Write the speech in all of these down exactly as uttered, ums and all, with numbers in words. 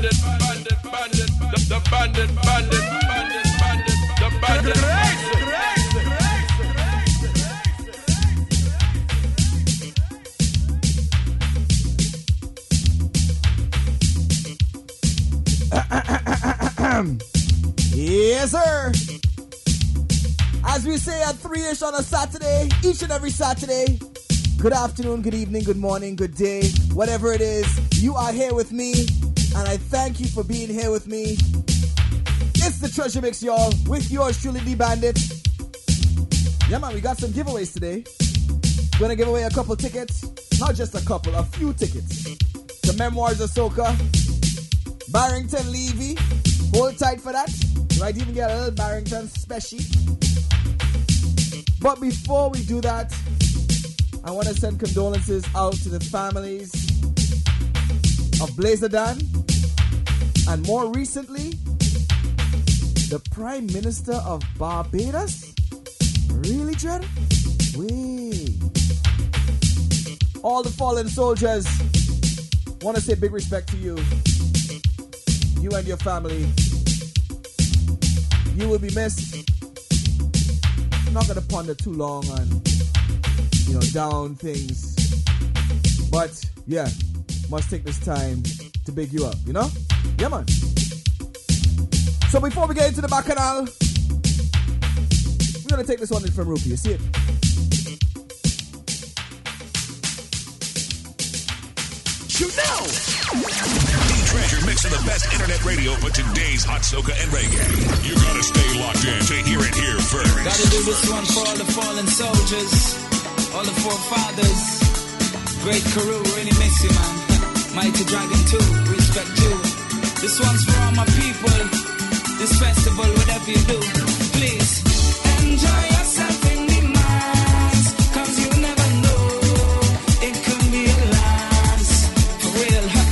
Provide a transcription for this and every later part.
bandit, bandit, bandit, the, the bandit, bandit, bandit, bandit, the bandit. Yes, sir. As we say at three-ish on a Saturday, each and every Saturday, good afternoon, good evening, good morning, good day, whatever it is, you are here with me, and I thank you for being here with me. It's the Treasure Mix, y'all, with yours truly, D Bandit. Yeah, man, we got some giveaways today. We're gonna give away a couple tickets, not just a couple, a few tickets. The Memoirs of Soca, Barrington Levy. Hold tight for that. You might even get a little Barrington special. But before we do that, I want to send condolences out to the families of Blazer Dan, and more recently, the Prime Minister of Barbados. Really, Dread? Wait. All the fallen soldiers, want to say big respect to you. You and your family. You will be missed. I'm not going to ponder too long on, you know, down things. But, yeah, must take this time to big you up, you know? Yeah, man. So before we get into the bacchanal, we're going to take this one in from Rupee. You see it? Shoot now! Treasure mixing the best internet radio for today's hot soca and reggae. You gotta stay locked in to hear it here first. Gotta do this one for all the fallen soldiers, all the forefathers. Great Karoo, really miss you, man. Mighty Dragon too, respect you. This one's for all my people. This festival, whatever you do, please enjoy yourself in the mass, cause you never know, it could be a last, for real, huh?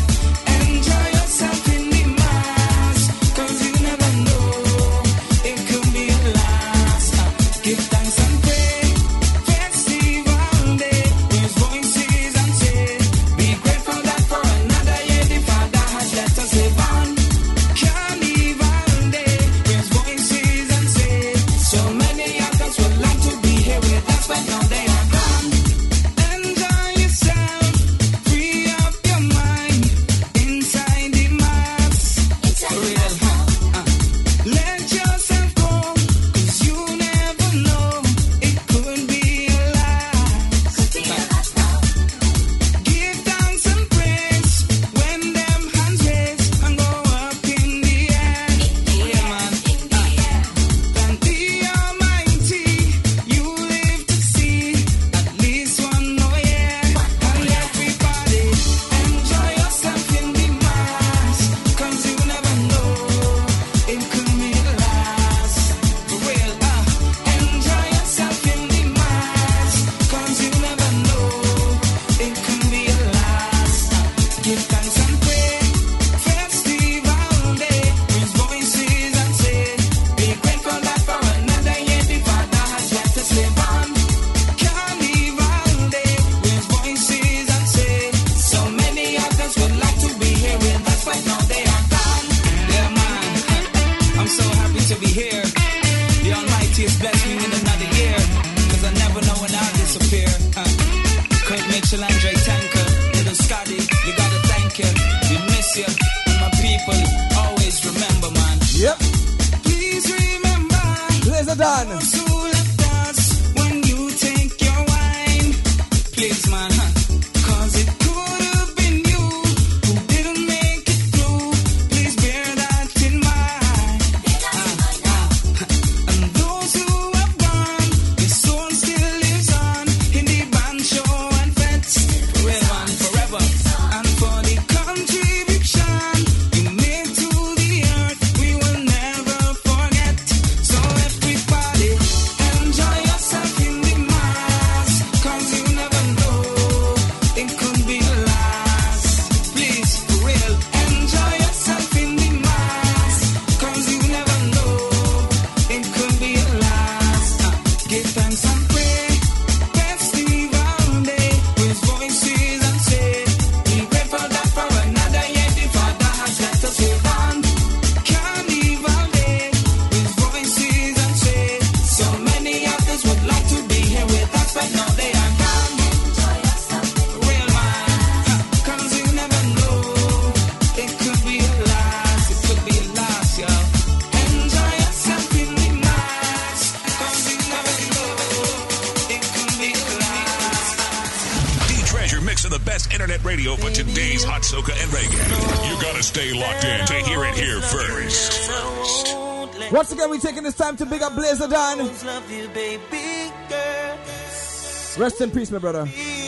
Everybody mixing the best internet radio for today's hot soca and reggae. You gotta stay locked in to hear it here first. First. Once again, we're taking this time to big up Blazer Dan. Rest in peace, my brother.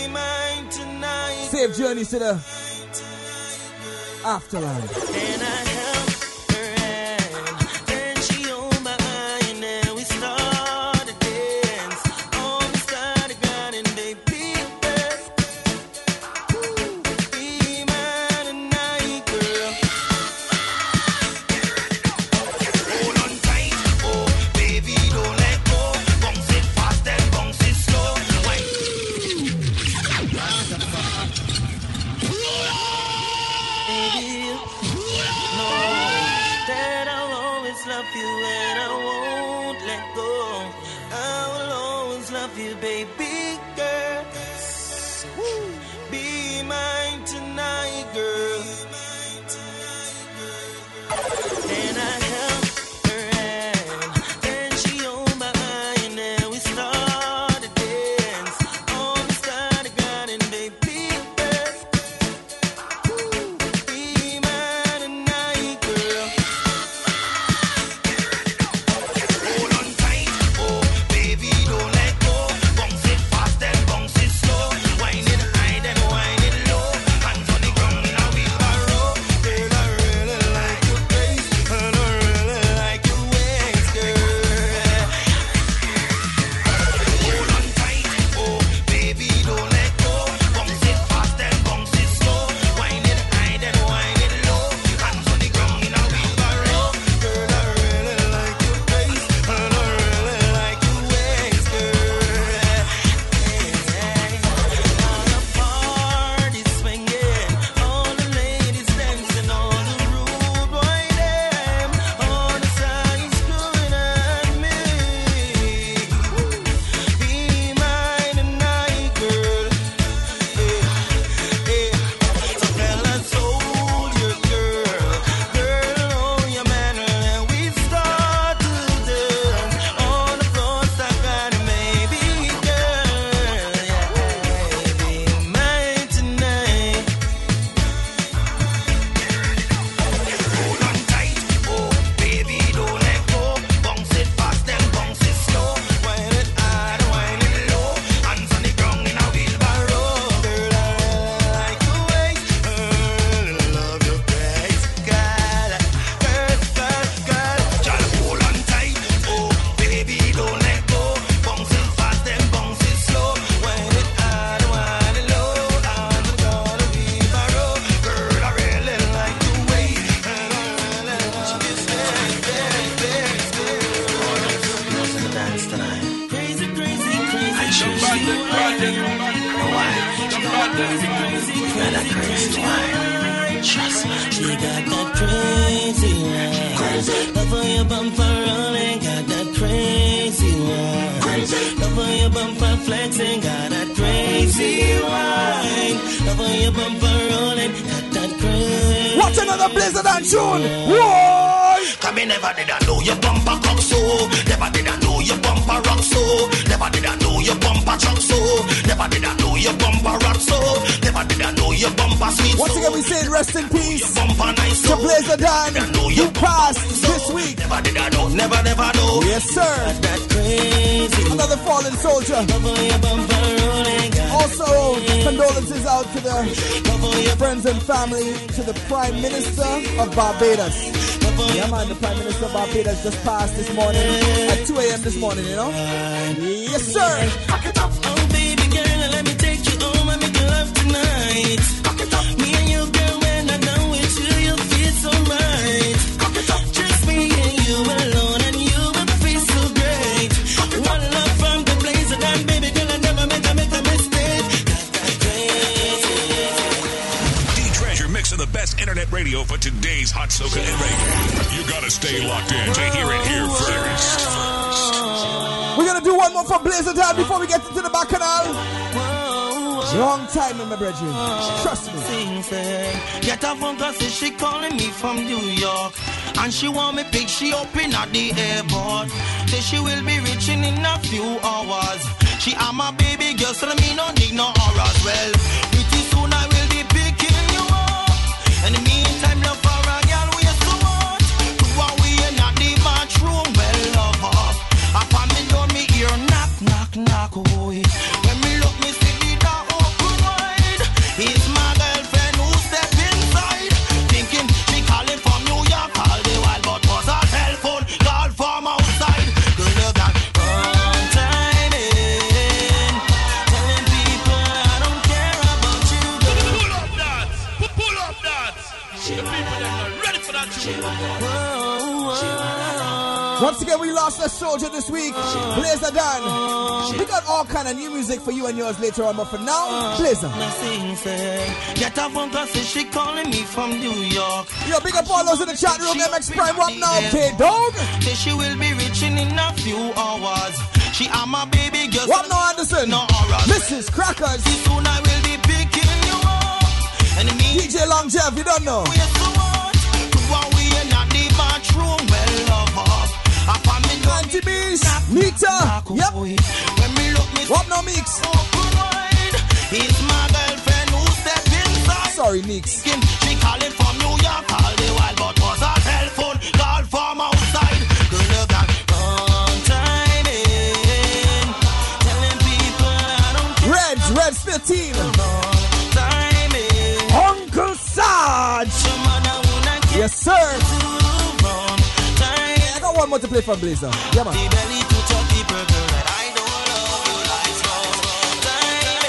Safe journeys to the afterlife. And I held her hand, and she held my eye, and then we started dance. On the side of God, and they picked us. Be mine tonight, girl. Hold on tight, oh baby, don't let go. Bounce it fast and bounce it slow. Wait. That I'll always love you and I won't let go. I will always love you, baby girl. Be mine tonight, girl. And I held her hand, and she held my eye, and then we started dance. On the side of God, and they picked us. Be mine tonight, girl. Hold on tight, oh baby, don't let go. Bounce it fast and bounce it slow. Wind it high then wind it low. Hands on the ground in a wheelbarrow. Girl, I really like your face, and I really like your waist, girl. Hold on tight, oh baby, don't let go. Bounce it fast and bounce it slow. Wind it high then wind it low. Hands on the ground in a wheelbarrow. Girl, I really like your face, and I really like your waist, girl. All the parties swinging, all the ladies dancing, all the rude boy them, all the sides screwing at me. Be mine tonight, girl. So fellas, hold your girl, girl, hold your man, and we start to dance on the floor, stuck on it, maybe, girl. Be mine tonight. Hold on tight, oh baby, don't let go. Bounce it fast and bounce it slow. Wind it hard, wind it low. Hands on the ground in a wheelbarrow. Girl, I really like your waist, I really love your grace, girl. Girl, girl, girl. Just hold on tight, oh baby, don't let go. Bounce it fast and bounce it slow. Wind it hard, wind it low. Hands on the ground in a wheelbarrow. Girl, I really like your waist, and I really love your grace, grace, grace, grace. The dance tonight. Crazy, crazy, crazy. I choose you. Why? Got that crazy wine. Trust me. She got that crazy wine. Crazy. Love on your bumper rolling. Got that crazy wine. Crazy. Love on your bumper flexing. Got that crazy wine. Love on your bumper rolling. Got that crazy. Watch another Blazer Dan tune. Whoa! Come me never did I know your bumper cock so. Never did I know your bumper rock so. Never did I know your bumper truck so. Never did I know your bumper rock so. Never did I know your bumper sweet so. Once again, we say rest in peace Your bumper nice to so. Blazer Dan, who passed this week. Never did I know, never, never know. Yes, sir. That crazy. Another fallen soldier. Love on your bumper rolling. Also, condolences out to the friends and family, to the Prime Minister of Barbados. Yeah, man, the Prime Minister of Barbados just passed this morning at two a.m. this morning, you know? Yes, sir. Pack it up. Oh, baby girl, let me take you home and make you love tonight. Pack it up. Me and you, girl, when I'm done with you, you'll feel so right. Pack it up. Just me and you alone, and you will feel so great. One love from the Blazer Dan, baby girl, I never make a, make a mistake. Got that crazy. D-Treasure mixing the best internet radio for today's hot soca and reggae. You gotta stay locked in to hear it here first. First. We're gonna do one more for Blazer Dan before we get into the bacchanal. Long time in my brethren. Trust me. Get a phone call, say she calling me from New York, and she want me pick she up in at the airport. Say she will be reaching in a few hours. She am my baby girl, so me no need no hours. Well, pretty Once again, we lost a soldier this week, Blazer Dan. We got all kind of new music for you and yours later on, but for now, Blazer. Get a phone call, say she calling me from New York. Yo, big up all those in the chat room, M X Prime, what now, K-Dog? Say she will be reaching in a few hours. She am my baby girl. What now, Anderson? No auras. Missus Crackers. Soon I will be picking you up. And me D J Long Jeff, you don't know. we are so what? While we in the bathroom, well love up. Upon me go Auntie Beast, Nita, yep. When me look me What now, Meeks? open wide. It's my girlfriend who step inside. Sorry, Meeks. She calling from New York all the while, but was a telephone call from outside. Girl, you got long time in. Telling people I don't Reds, Reds fifteen. long time in. Uncle Sarge. Some other woman can't Yes, sir. long time. I got one more to play from Blazer. Yeah, man. The belly to chop the burger, and I don't love you like small time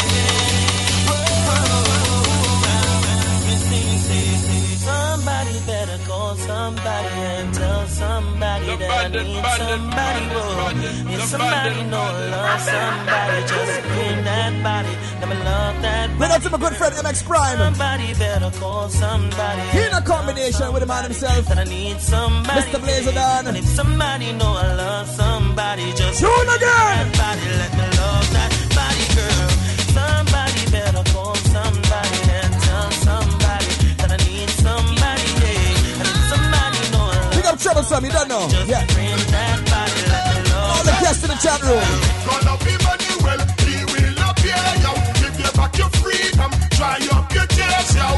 in. Somebody better call somebody and tell somebody The that bandit, I need bandit, somebody. bandit, Whoa. bandit, If the somebody bandit, know bandit. love somebody, just bring that body. Let me love that Big body. up to my good friend M X Prime. Somebody better call somebody. He in a combination with the man himself, That I need somebody. Mister Blazer Dan. And if somebody know I love somebody, just Tune again. that body, let me love that body, girl. Somebody better call somebody and tell somebody that I need somebody, yeah. And if somebody know I love Big up Troublesome, you don't know. just Yeah. bring that body, let me love All the guests in the chat room. Gonna be Manuel, he will appear, yo. Give you back your freedom, dry up your tears, yo.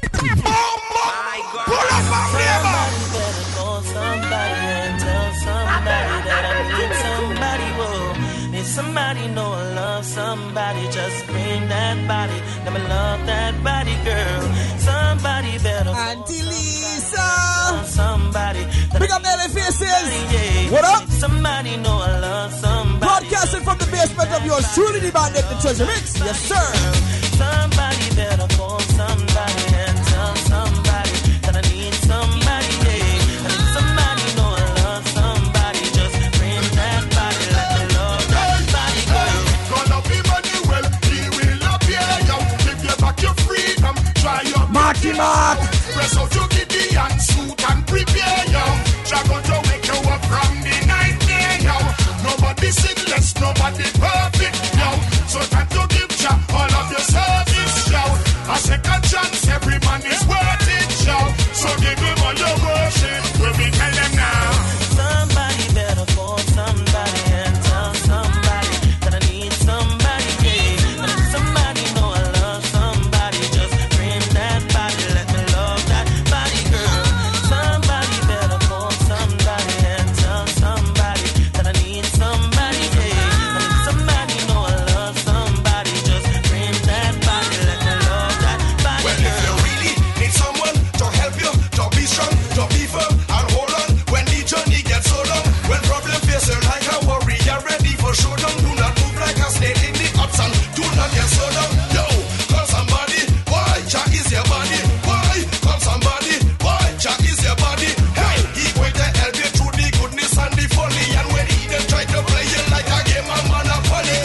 Pull up my neighbor. Somebody better call somebody and tell somebody that I need somebody. Whoa, if somebody know I love somebody, just bring that body. Let me love that body, girl. Somebody better call Auntie Lisa. somebody. that Big I up Nelly Faces. need. What up? Somebody know I love somebody. Broadcasting from the basement of yours truly, the bandit, the treasure mix. Yes, sir. Somebody better call somebody and tell somebody that I need somebody, yeah. And if somebody know I love somebody, just bring that body, let me love that body, girl. Gonna be Manuel, he will appear, yo. Give you back your freedom, dry up. Marky Mark. Press out your Gideon suit and prepare, yo. Dragon to wake you up from the night there, yo. Nobody sinless, nobody perfect, yo. So time to give Jah all of your service, yo. A second chance, every man is worth it, yo. So give him all your worship, when we tell them now. Somebody better call somebody and tell somebody that I need somebody, yeah. And if somebody know I love somebody, just bring that body, let me love that body, girl. Somebody better call somebody and tell somebody that I need somebody, yeah. And if somebody know I love somebody, just bring that body, let me love that body, Well, if you girl. really need someone to help you, to be strong, to be firm, and hold on when the journey gets so long. When problem face you like a warrior, ready for showdown. Do not move like a snake in the hot sun. Do not get so down. Yo, call somebody. Why? Jack is your body. Why? Call somebody. Why? Jack is your body. Hey, he going to help you through the goodness and the folly. And when he then try to play you like a game of Monopoly.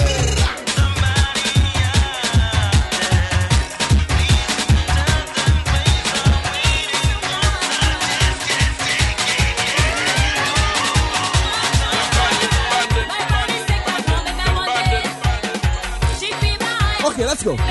Okay, let's go.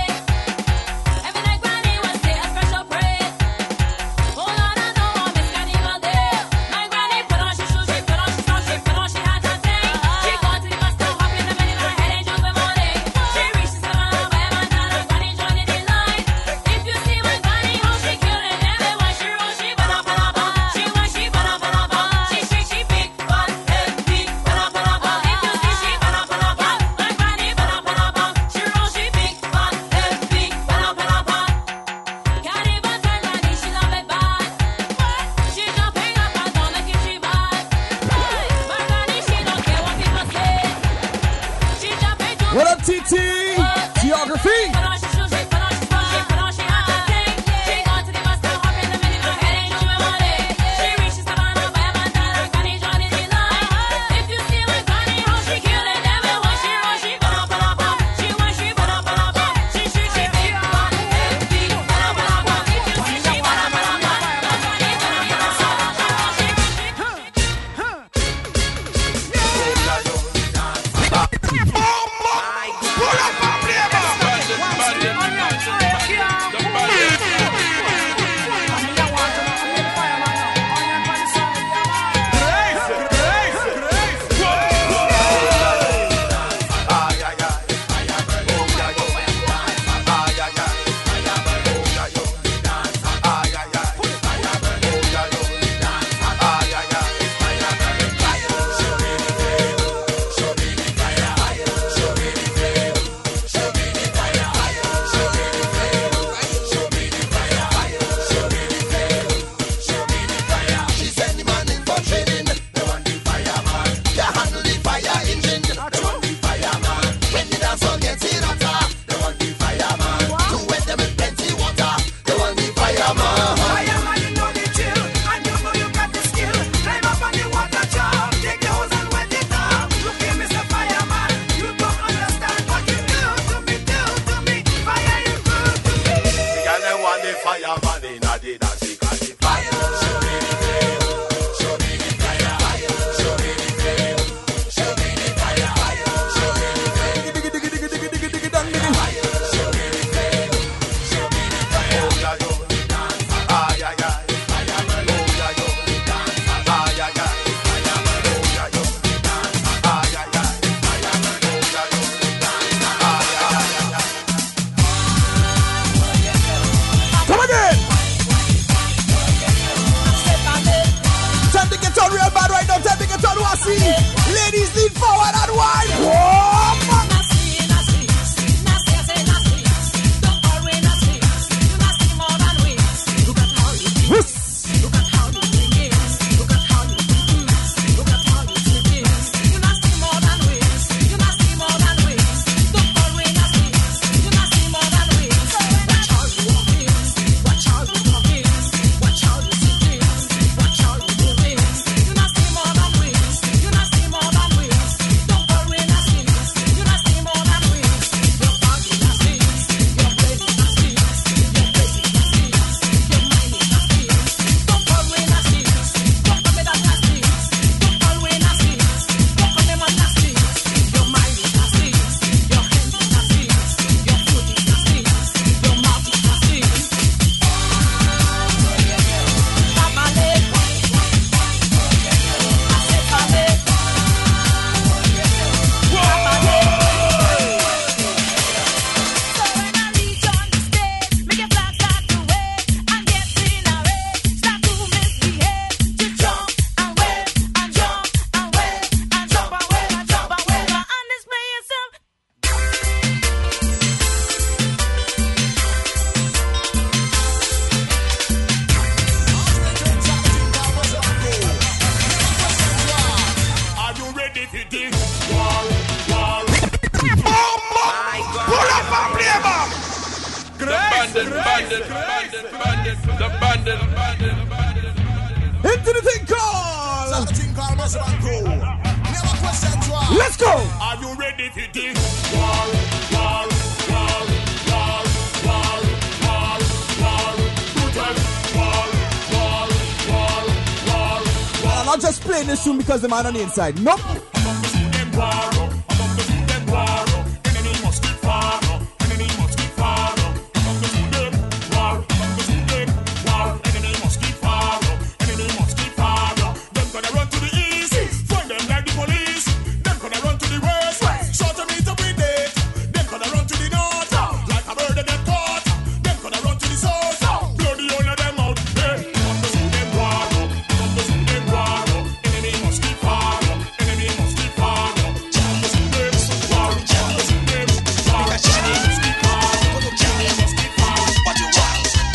What up, T T? Geography. bandit, bandit, bandit, bandit, the bandit, bandit, bandit. Into the thing called. The thing called Muslim Crew. Never question why. Let's go. Are you ready for this? War, war, war, war, war, war, war. Brutal. War, war, war, war, war. I'm not just playing this tune because the man on the inside. Nope. Among the student war, among the student war. Enemy must keep far, enemy must keep far. Among the student war, among the student war. Enemy must keep far, enemy must keep far. Them gonna run to the east, find them like the police. Them gonna run to the west, short a meter with it. Them gonna run to the north, like a bird that get caught. Them gonna run to the south, blow the whole of them out. Hey, among the student war, among the student war. Enemy must keep far, enemy must keep far. Among the student war, among the student war. Enemy must keep far, enemy must keep far. What you want?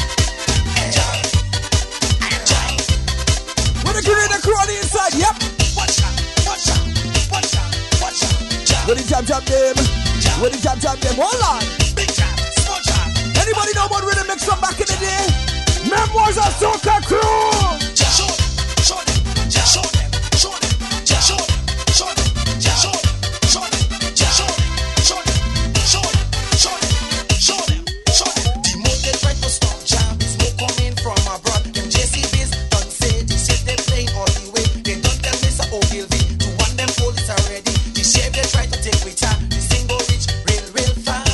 With the grenade and crew on the inside. Yep. Watch out, watch out, watch out, watch out. With the jab jab them. With the jab jab them. Hold on. Big jab, small jab. Anybody know about rhythm mix from back in the day? Memoirs of Soca Crew. Show them, show them, show them, show them, show them, show them, show them, show them, show them, show them, show them, show them, show them, show them. The more they try to stop jam, smoke coming from abroad. Them J C Bs don't say this is they playing all the way. They don't tell Mister Ogilvy to want them police already. The shape they try to take with her, the single reach real, real fast.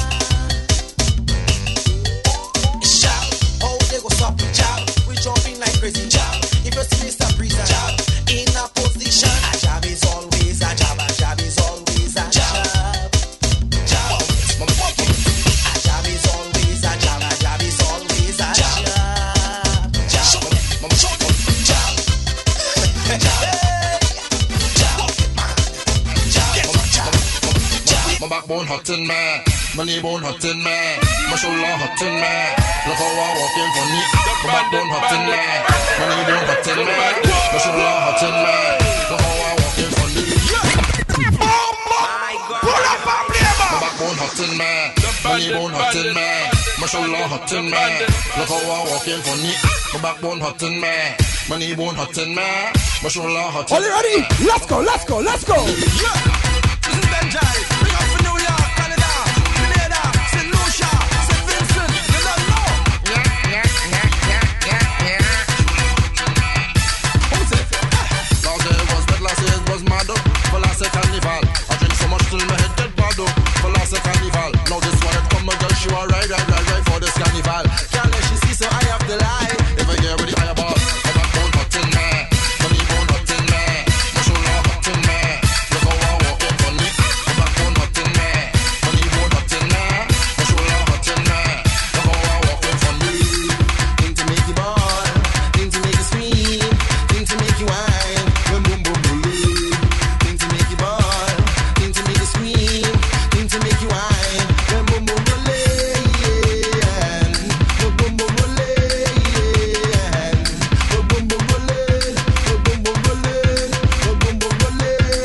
Shout, oh they go stop the jab. We jumping like crazy jab. If you see Mister Breezer jab in a position, a jab is always a jab. A jab is always a jab. Jab, a jab is always a jab. A jab is always a jab. Jab, mama show them jab. Jab, jab, My backbone hot in me, my knee bone hot in me, my shoulder hot in me. Look how I walk in for me. My backbone hot in me, my knee bone hot in me, my shoulder hot in me. Look how I walk in for me. pull up and play My back. backbone hot in me, my knee bone hot in me, my shoulder hot in me. Look how I walk in for me. My backbone hot in me, my knee bone hot in me, my shoulder hot in Are me. you ready? Let's go, let's go, let's go. This is Benjai, bring up for New York, Canada, Grenada, Saint Lucia, Saint Vincent, you don't know. Last year was bad, last year was mad up. For last year carnival, I drink so much till my head get bad up. For last year carnival, now this one it come again. She want ride, ride, ride, ride for this carnival. Can't let she see so I have the lie. If I hear with the higher boss, my backbone hot in me, my knee bone hot in me, my shoulder hot in me. Look how I walk in for me. My backbone hot in me, my knee bone hot in me, my shoulder hot in me. Look how I walk in for me. Thing to make you ball, thing to make you scream, thing to make you whine, boom boom boom boom. Thing to make you ball, thing to make you scream, thing to make you whine, boom boom boom boom. Boom boom boom boom, boom boom boom boom, boom boom boom boom boom, boom boom boom.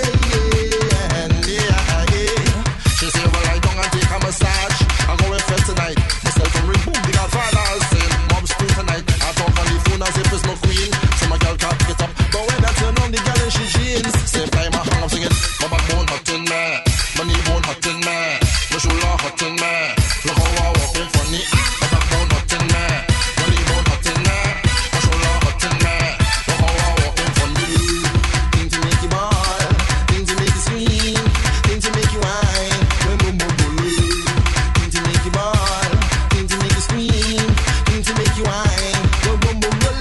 Yeah, yeah. She say, well, I don't take a massage. I go and fed tonight. Myself from ring boom, the Godfather saying, Mom's school tonight. I talk on the phone as if it's my queen. So my girl can't get up. But when I turn on the girl and she jeans, same time I hang up singing, my backbone hot in me, my knee bone hot in me, my shoulder hot in me. Look how I walk in funny. My backbone hot in me, my knee bone hot in me, my shoulder hot in me. Look how I walk in funny. Thing to make you ball, thing to make you scream, thing to make you whine, boom boom boom boom. Thing to make you ball, thing to make you scream, thing to make you whine, boom boom boom boom.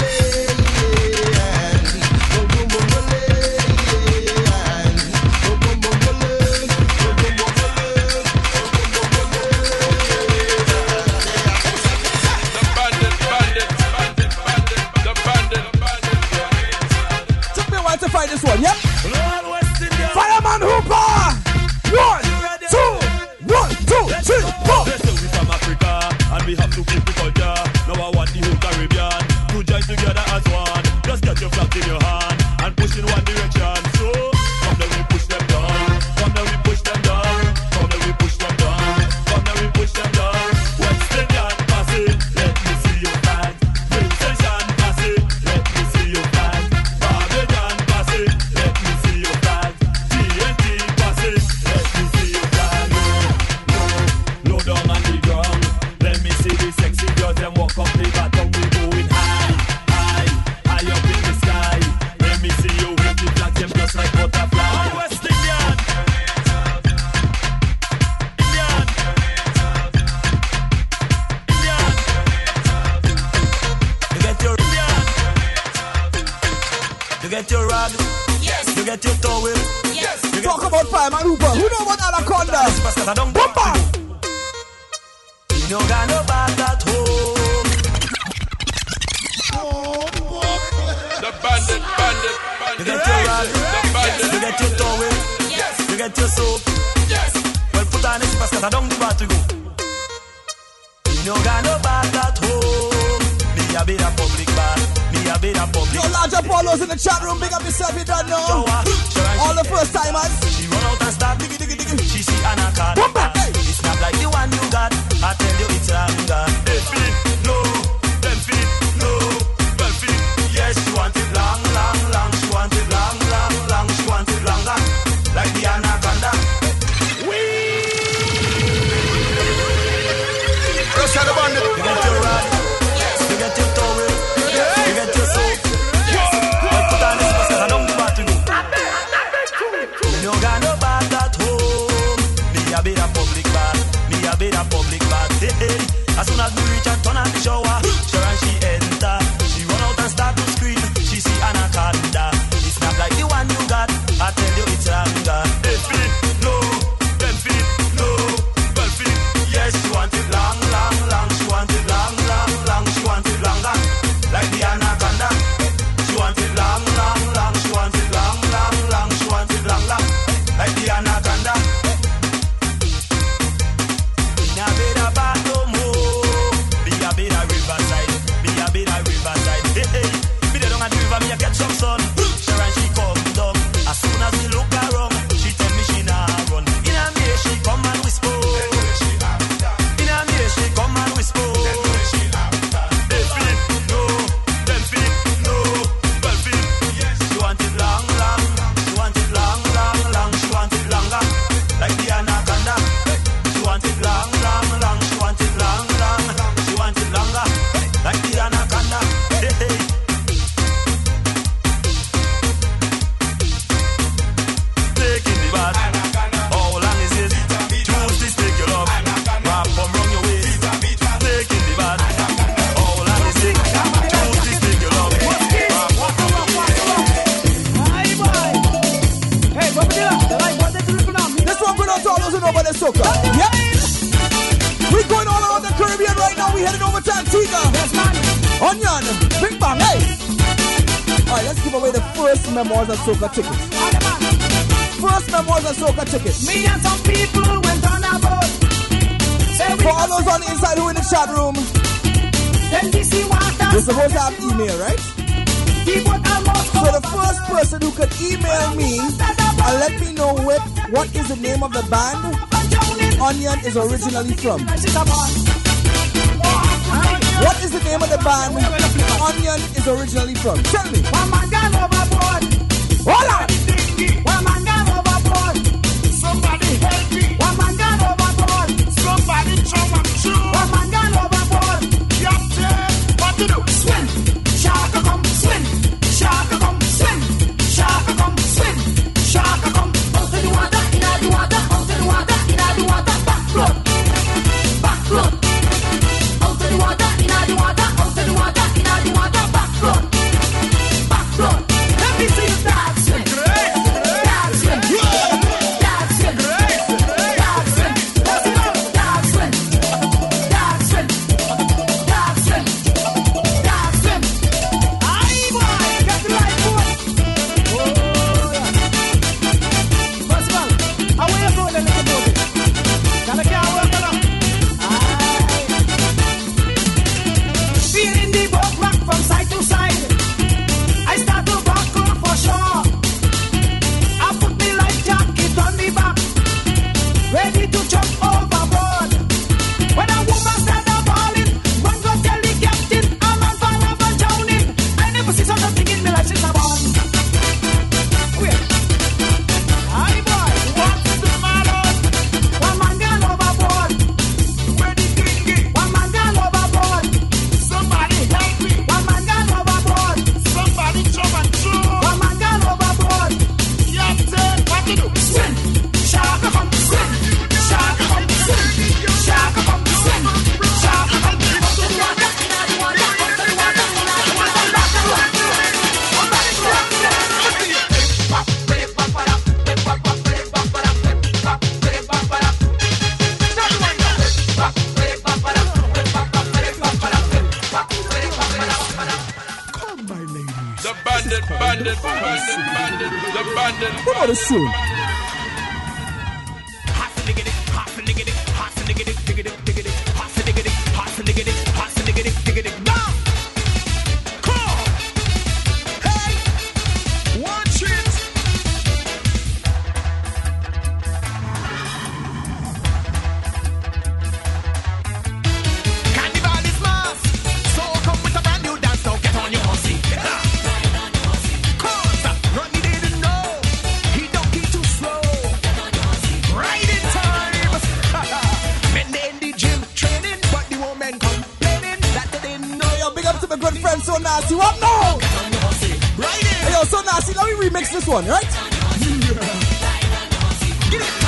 Boom boom boom boom, boom boom boom boom, boom boom The bandit, bandit, bandit, bandit, the bandit, bandit. Took me a while to find this one, yep. Fireman Hooper. One, two, one, two, three, four. They say we from Africa and we have to keep the culture. Now I want the whole Caribbean to join together as one. Just get your flag in your hand and push in one direction. So come then we push them down. Come then we push them down. Come then we push them down. Come then we push them down. West Indian passing. get your towel. Yes. Talk about Fireman Hooper. Who know about Anaconda? Cause I don't Bumper. You no got no bath at home. The bandit, bandit, bandit. You get your rag, The bandit. you get your towel, Yes. you get your soap. Yes. Well, put on this cause I don't give a to go. You no got no bath at home. Me a bit a public bath. Me a bit a public. Yo, large Apollos in the chat room. Big up yourself, you don't know. All the first timers. She run out and start diggy diggy diggy. She see Anaconda. Bumper. It's not like the one you got. I tell you it's longer. Ten feet, No, ten feet, no. twelve feet. Yes, she want it long, long, long. She want it long, long, long. She want it longer. Like the Anaconda. Just had a bandit. You get your rod. You get your towel. You get your soap. Well, put on this cause I don't give a to go. Me no got no bath at home. Me a bit a public bath. Me a bit a public bath. Hey, hey. As soon as we reach and turn on the shower, sure and she enter. She run out and start to scream. She see Anaconda. It's not like the one you got. I tell you it's longer. Ten feet, No, ten feet, no. twelve feet. Yes, she want it long, long, long. She want it long, long, long. She want it longer. Like the Anaconda. She want it long, long, long. She want it long, long, long. She want it long, long. Like the Anaconda. Me a bit a bath no more. Me a bit a riverside. Me a bit a riverside. Hey, hey. Me dey down at the river. Me a get some sun. Sure and she come down. As soon as me look around, she tell me she nah run. In a me she come and whisper. In a me she come and whisper. Ten feet, No, ten feet, no. twelve feet. She want it long, long. She want it long, long, long. She want it longer. Like the Anaconda. She want it long, long, long. She want it long, long. She want it longer. Like the Anaconda. Hey, hey. Taking the bath. How long is it? Choose this, take your love. Wrap from round your waist. Taking the bath. How long is it? Choose this, take your love. Wrap from round your waist. This one going out to all those who know about the soca. Yep. We're going all around the Caribbean right now. We're heading over to Antigua. Onion. Big bang, hey. Alright, let's give away the first Memoirs of Soca tickets. First Memoirs of Soca tickets. Me and some people went on a boat. Say we For all those on the inside who in the chat room, then this is water. you're supposed to have email, right? He put almost So the first person who could email me and let me know what, what is the name of the band Onion is originally from. What is the name of the band Onion is originally from? Tell me. One man gone overboard. Hold on. One man gone overboard. Somebody help me. One man gone overboard. Somebody throw up true. One man gone overboard. Captain, what to do? Swim. Shark come swim. Shark come swim. Shark come swim. Shark come out of the water, in the water, out of the water, in the water, back float. Back float. Out of the water, in the water, out of the water, in the water, back float. Back float. Let me see you dance swim. Dance swim. Dance swim. bandit, bandit, bandit, the bandit. Come on, it's soon. So nasty, what now? Hey, yo, so nasty, let me remix this one, right? Get it.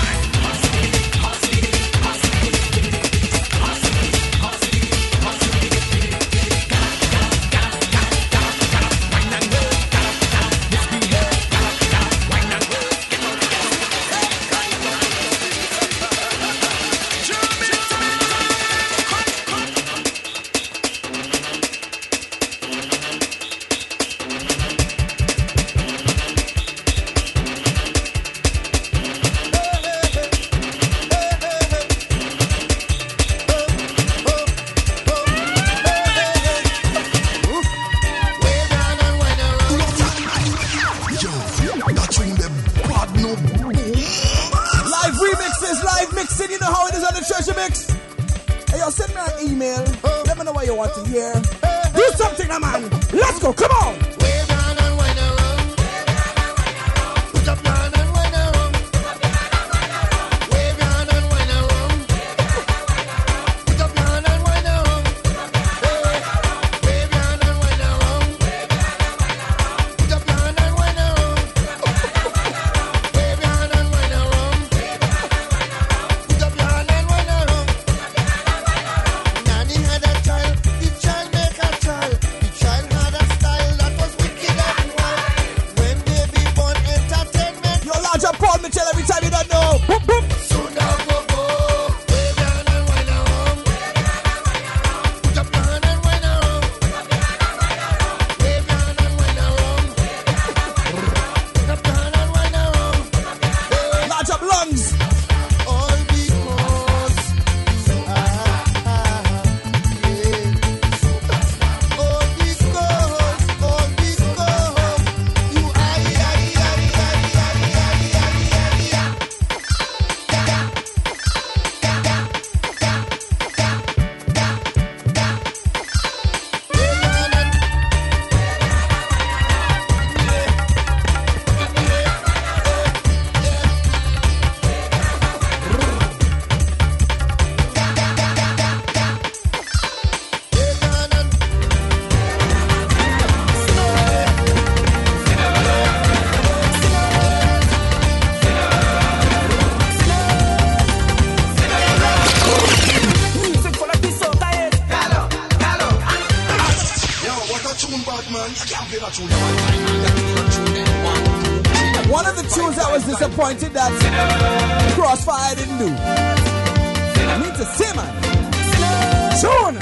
One of the tunes that was disappointed that Crossfire didn't do. I need to say, man. Tune!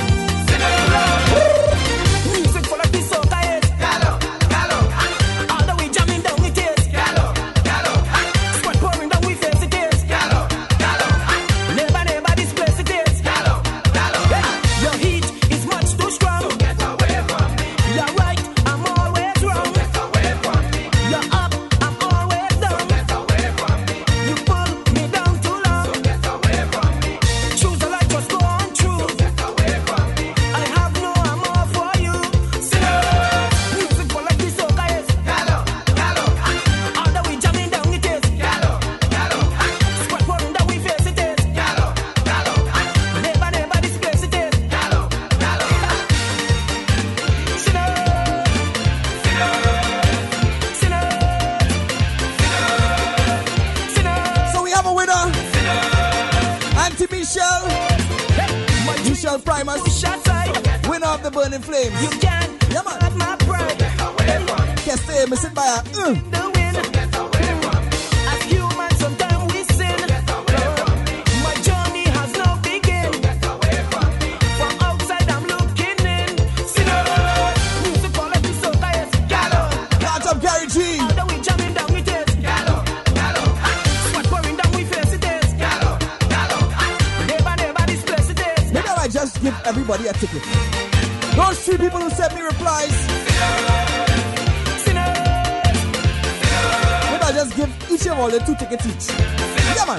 Music full of this soca is Gallo, Gallo. All the way jamming down it is Gallo, Gallo. Squad pouring down we face it is Gallo, Gallo. Never, never this place it is Gallo, Gallo. Your heat is much too strong, so get away from me. You're right, I'm always wrong, so get away from me. You're up, I'm always down, so get away from me. You pull me down too long, so get away from me. Choose the light, just go on true, so get away from me. I have no amor for you. Music for like this soca is Gallo, Gallo. All the way jamming down it is Gallo, Gallo. Squad pouring down we face it is Gallo, Gallo. Never, never this place it is Gallo, Gallo. Sinner, sinner, sinner, sinner. So we have a winner. Auntie Michelle, Michelle Primus, winner of the Burning Flames. You can, yeah man. At my pride. Can't stay missing by a. Uh. The win. As humans, sometimes we sin. My journey has no begin. From outside, I'm looking in. Sinner, music quality soca is Gallo. Large up Gary everybody a ticket. Those three people who sent me replies, maybe I'll just give each of all the two tickets each. Yeah, man.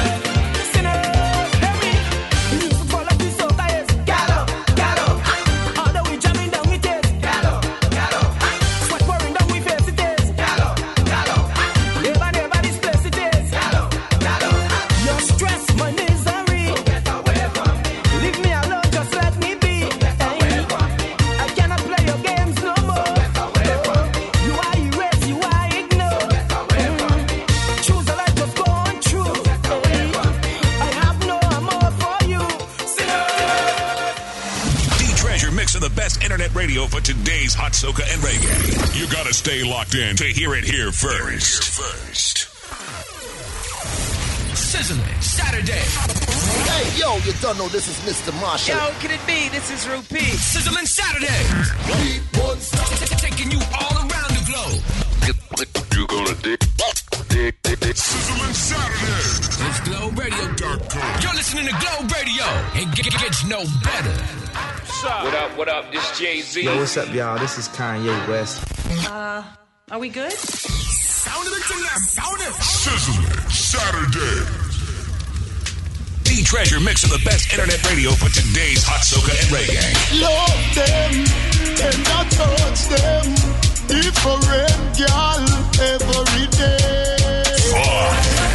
Radio for today's hot soca and reggae. You gotta stay locked in to hear it here first. Here first. Sizzling Saturday. Hey, yo, you don't know this is Mister Marshall. Yo, can it be? This is Rupee. Sizzling Saturday. Taking you all around the globe. You gonna dig, dig, dig, dig. Sizzling Saturday. It's Globe Radio. You're listening to Globe Radio. It g- gets no better. What up, what up? This Jay-Z. Yo, what's up, y'all? This is Kanye West. Uh, are we good? Sound of it tonight. Sound it. Sizzling Saturday. The treasure mix of the best internet radio for today's hot soca and reggae. Love them, and I touch them. Different girl every day. Fun.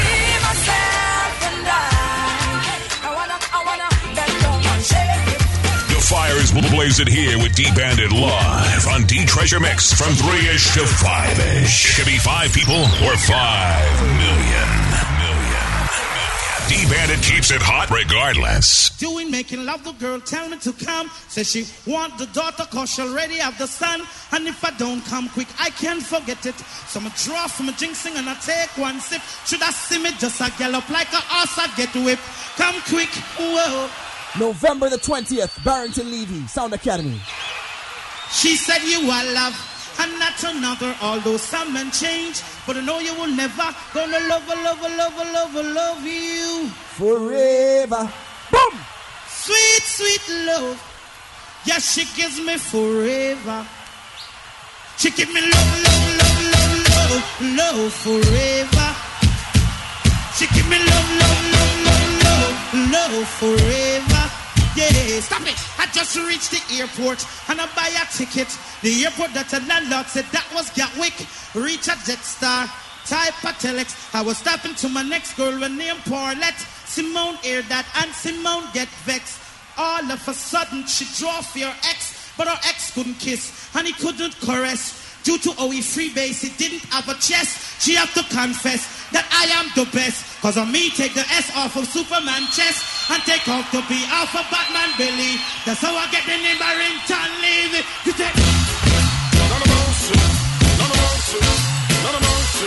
Fire is blazing here with D-Bandit live on D-Treasure Mix from three-ish to five-ish. It could be five people or five million. Million. D-Bandit keeps it hot regardless. Doing making love, the girl tell me to come. Says she want the daughter cause she already have the son. And if I don't come quick, I can't forget it. So I draw from a jinxing and I take one sip. Should I see me just a gallop like a horse I get whipped. Come quick, whoa. November the twentieth, Barrington Levy, Sound Academy. She said you are love and not another, although some men change, but I know you will never gonna love, love, love, love, love you forever. Boom! Sweet, sweet love. Yes, she gives me forever. She give me love, love, love, love, love, love forever. She give me love, love, love, love, love, love forever. Yeah, stop it. I just reached the airport and I buy a ticket. The airport that the landlord said that was Gatwick. Reach a Jetstar, type a telex. I was stopping to my next girl with name Paulette. Simone hear that and Simone get vexed. All of a sudden she draw for her ex, but her ex couldn't kiss and he couldn't caress. Due to how he freebase, he didn't have a chest. She have to confess that I am the best. Cause on me take the S off of Superman chest and take off the B off of Batman belly. That's how I get the name Barrington Levy. You take none of mercy, none of mercy, none of mercy.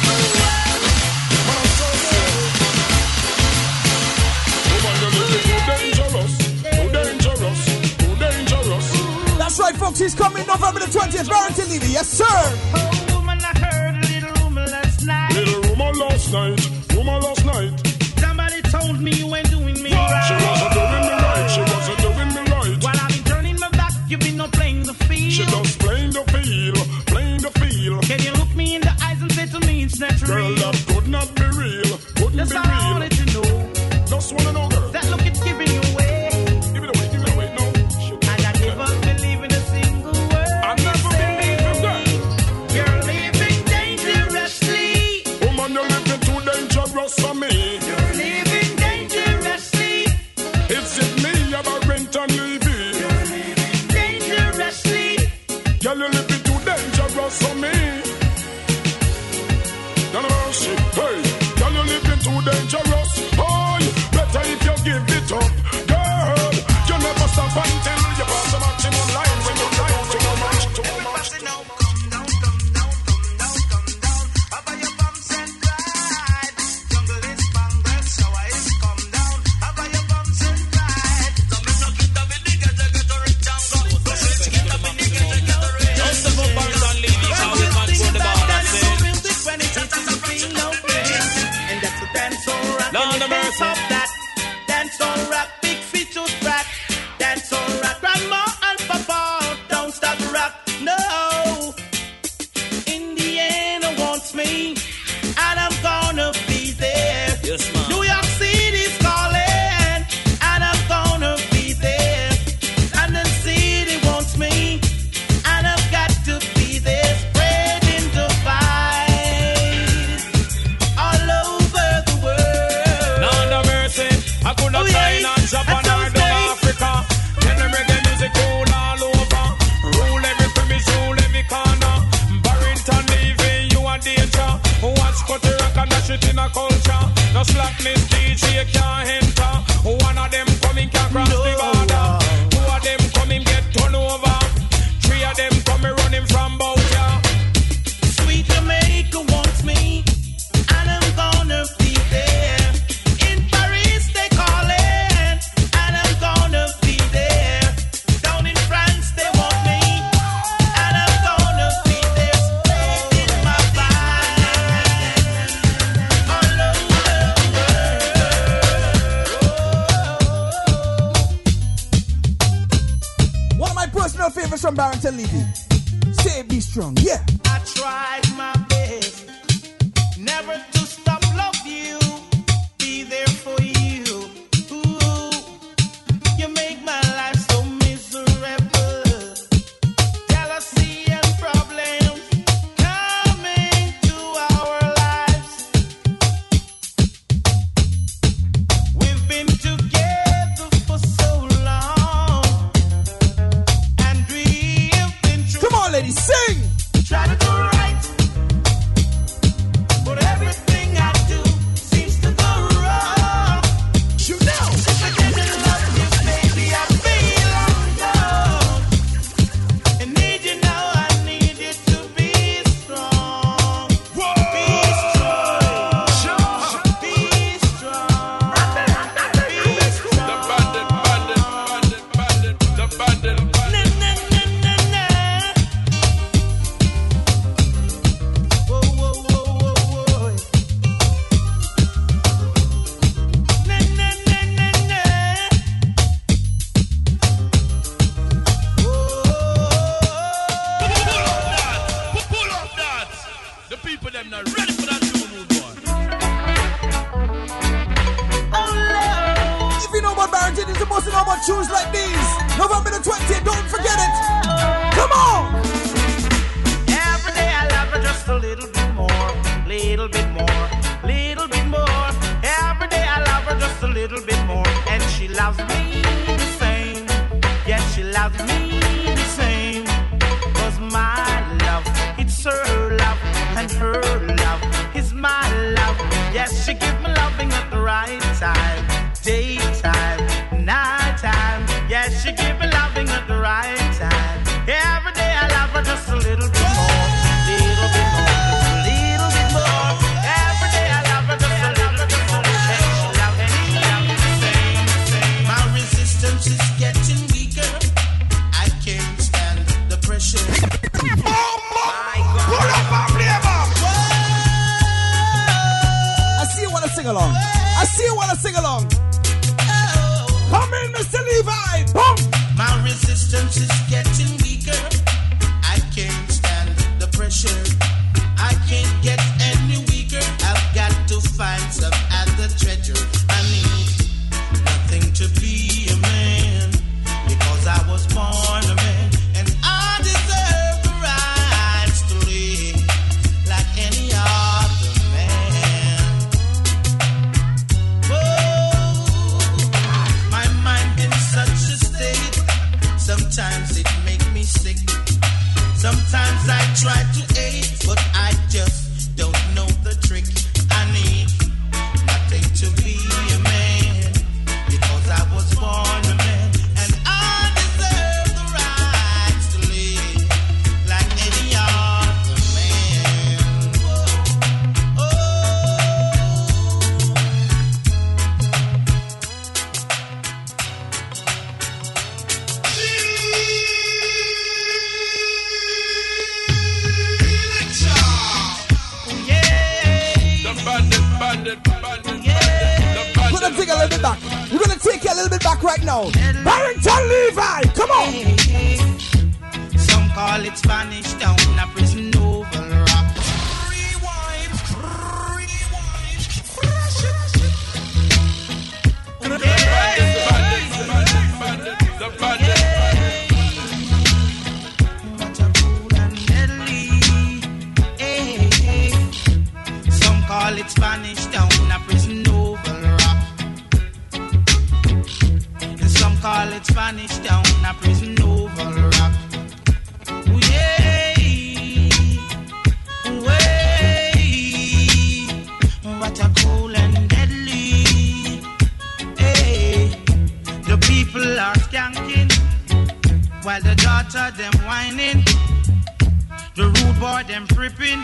That's right, folks, he's coming November the twentieth, Barrington Levy, yes sir. Oh, woman, I heard a little rumor last night. Little rumor last night, rumor last night. Somebody told me you ain't doing me right. She wasn't doing me right, she wasn't doing me right. While I've been turning my back, you've been not playing the field. She just playing the field, playing the field. Can you look me in the eyes and say to me it's not girl, real? Girl, that could not be real, couldn't That's be all real. I wanted to know. Just wanna know, girl. That look it's giving you away. Give it away, give it away, no. And I never believe in a single word. I never believe in that. You're living dangerously. Woman, you're living too dangerous for me. You're living dangerously. Is it me, Barrington Levy? You're living dangerously. Girl, you're living too dangerous for me. None of our shit, hey. Girl, you're living too dangerous. Oh, better if you give it up. Girl, you never stop until you pass the maximum line. When you line too much, too much, too much. Just Clash it in a culture. No slackness, D J can't enter. One of them coming can cross the border. Two of them coming get turned over. Three of them coming running from Boucher. Sweet Jamaica wants me, and I'm gonna be there. In Paris they calling, and I'm gonna be there. Down in France they want me, and I'm gonna be there. Spreading my vibe all over the world. One of my personal favorites from Barrington Levy. Say be strong, yeah. I tried my best never to stop love you, be there for you. Ooh, you make my life so miserable. Jealousy and problems coming to our lives. We've been together for so long, and we've been through. Come on, ladies, sing. Try to do right, but everything I do seems to go wrong. You know, since I didn't love you, baby, I feel alone. I need you now, I need you to be strong. Be strong, be strong, be strong. The bandit, bandit, bandit, bandit, the bandit, bandit. Na, na, na, na, na. Whoa, whoa, whoa, whoa, whoa. Na, na, na, na, na. Pull up that. The people them not ready for that new move on. If you know about Barrington, you're supposed to know about tunes like these. November the twentieth, don't forget it. Come on. Every day I love her just a little bit more, little bit more, little bit more. Every day I love her just a little bit more, and she loves me the same. Yes, she loves me the same. 'Cause my love, it's her love, and her love is my love. Yes, she gives me loving at the right time, daytime, nighttime. Yes, she gives me loving at the right time. Every day I love her just a little bit more, little bit more, just a little bit more. Every day I love her just a little bit more, and she loves me, she loves me the same, same. My resistance is getting weaker. I can't stand the pressure. Pull up and play back. I see you wanna sing along. I see you wanna sing along. Come in, Mister Levi. Boom. My resistance is getting weaker. I can't stand the pressure. I can't get any weaker. I've got to find some other treasure. I need nothing to be a man, because I was born a man, and I deserve the rights to live like any other man. Oh, my mind in such a state. Sometimes it makes me sick. Sometimes I try to aid, but I just don't know the trick. I need nothing to be a man, because I was born a man, and I deserve the rights to live like any other man. Oh, The bandit, bandit, bandit, bandit, the bandit. We're gonna take a little bit back. We're gonna take you a little bit back right now. Barrington Levy, come on. some call it Spanish Town, a prison oval rock. The bandit. Some call it Spanish Town, a prison oval rock. And some call it Spanish Town, a prison oval rock. Ooh, yeah. while the daughter them whining, the rude boy them tripping.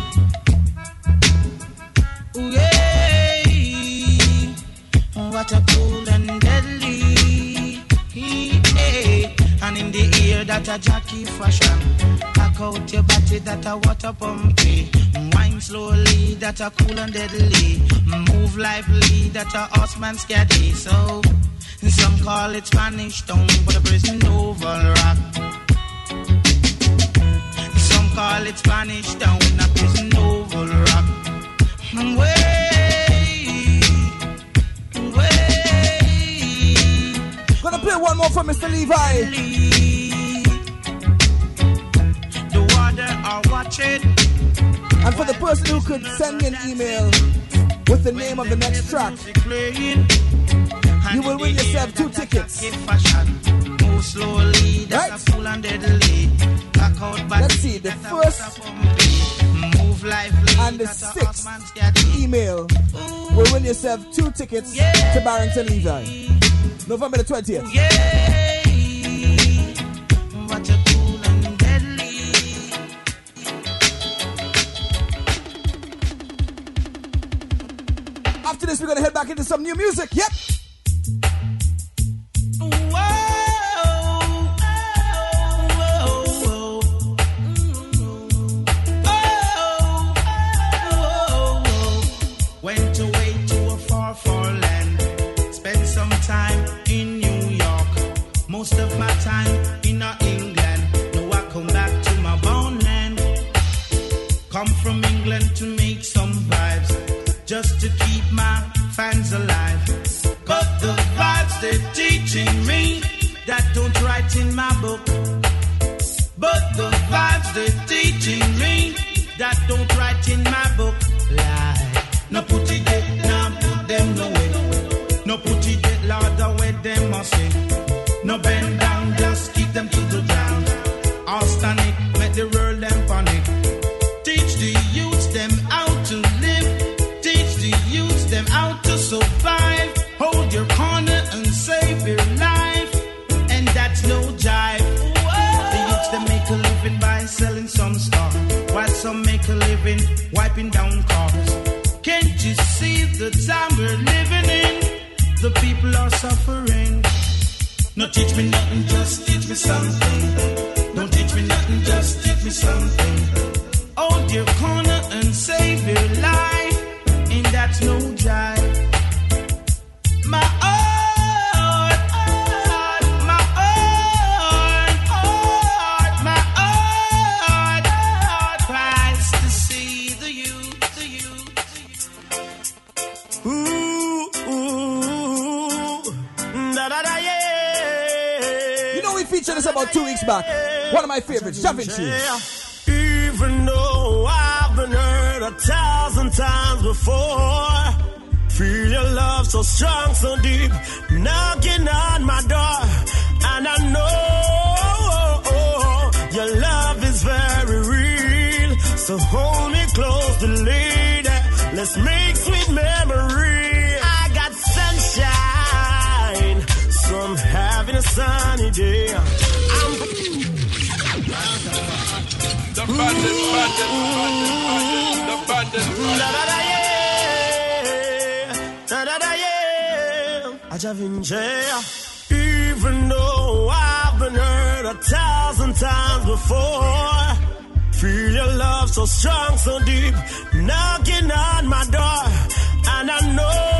Ooh, yeah, what a cool and deadly, yeah. And in the ear that a jockey fashion, cock out your body that a water pumpy, wine slowly that a cool and deadly, move lively that a horseman scatty. So some call it Spanish Town, but a prison oval rock. Some call it Spanish Town, a prison oval rock. Way, way. Gonna play one more for Mister Levi. The water are watching. And for the person who could send me an email with the name of the next track, you will win yourself two tickets. Move slowly, that's a full and deadly. Let's see, the first and the sixth email will win yourself two tickets to Barrington Levi. November the twentieth. What a cool and deadly. After this, we're gonna head back into some new music. Yep. Went away to a far, far land. Spent some time in New York. Most of my time in England. Now I come back to my born land. Come from England to make some vibes, just to keep my fans alive. But the vibes they're teaching me, that don't write in my book. But the vibes they're teaching me, that don't write in my book. Lie. No put it there, no put them no way. No put it there, Lord, the way them must say. No bend down, just keep them to the ground. All static, make the world them panic. Teach the youths them how to live. Teach the youths them how to survive. Hold your corner and save your life. And that's no jive. The youths them make a living by selling some stuff, while some make a living wiping down cars. Can't you see the time we're living in? The people are suffering. No teach me nothing, just teach me something. Don't teach me nothing, just teach me something. Hold your corner and save your life. And that's no jive. My heart, heart, my heart, heart, my heart, heart cries to see the youth, the youth. Ooh, ooh, da da da yeah. You know we featured this about two weeks back. One of my favorites, Shoving Shoes. Even though I've been hurt a thousand times before, feel your love so strong, so deep, knocking on my door, and I know your love is very real. So hold me close, lady. Let's make sweet memory. I got sunshine, so I'm having a sunny day. I'm the bandit, bandit, bandit, the bandit, even though I've been hurt a thousand times before, feel your love so strong, so deep, knocking on my door, and I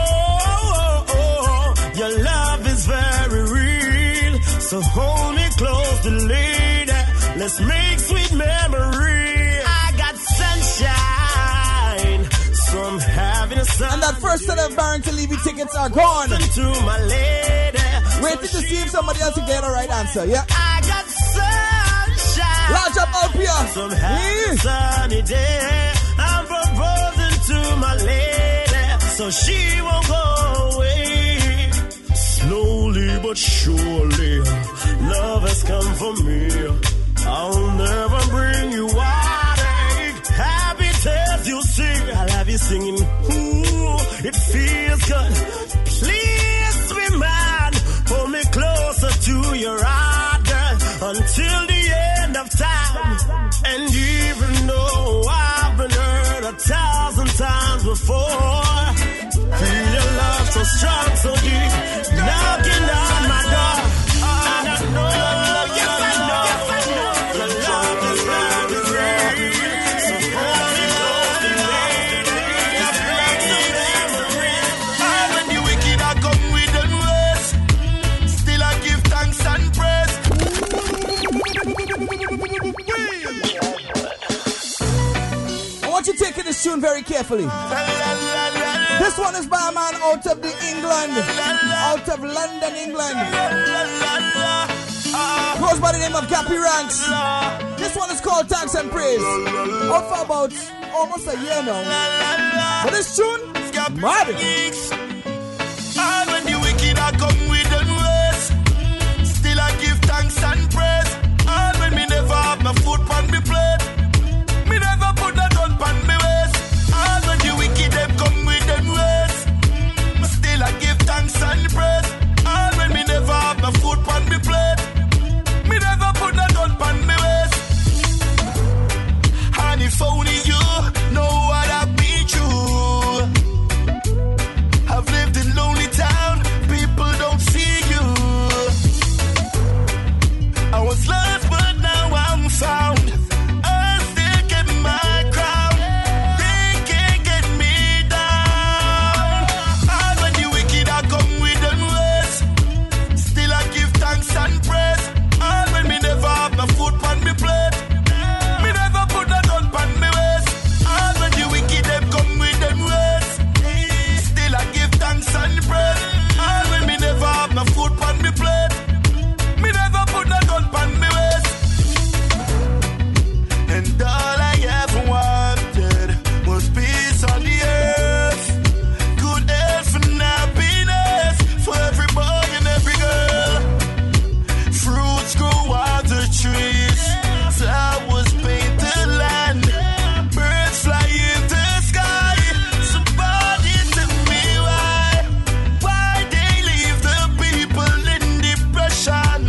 know your love is very real. So hold me close, lady. Let's make sweet memory. I got sunshine, so I'm having a sun. And that first set of Barrington Levy tickets are gone. To my lady. Waiting to see if somebody else can get the right answer. Yeah. I got sunshine. Large up Alpia. So I'm having a sunny day. I'm proposing to my lady, so she won't go away. Slowly but surely, love has come for me. I'll never bring you heartache. Happy tales you sing. I'll have you singing. Ooh, it feels good. Please be mine. Hold me closer to your heart, girl. until the end of time. And even though I've been hurt a thousand times before, feel your love so strong, so deep, knocking on my door. And I know, yes I know, the love is very real. So hold me closely, lady, it's like the memory. And when the wicked are come with them ways, still I give thanks and praise. I want you taking this tune very carefully. This one is by a man out of the England, out of London, England. Goes by the name of Gappy Ranks. This one is called Thanks and Praise. Out for about almost a year now. But this tune, mad. And when the wicked are come with them ways, still I give thanks and praise. And when me never have my foot on me plate, me never put that on pan me waist. And when the wicked them come with them ways, still I give thanks and praise. And when me never have my foot on me plate, me never put that on pan me waist. And if only you know what I've been through. I've lived in lonely town, people don't see you. I was lost but now I'm found. I still get my crown. They can't get me down. And when the wicked are come with them ways, still I give thanks and praise. And when me never have my foot on me plate, me never put that on pan me waist. And when the wicked them come with them ways, still I give thanks and praise. And when me never have my foot on me plate, me never put that on pan me waist. And all I ever wanted was peace on the earth, good health and happiness for every boy and every girl. Fruits grow on the trees, flowers paint the land, birds fly in the sky. Somebody tell me why, why they leave the people in depression,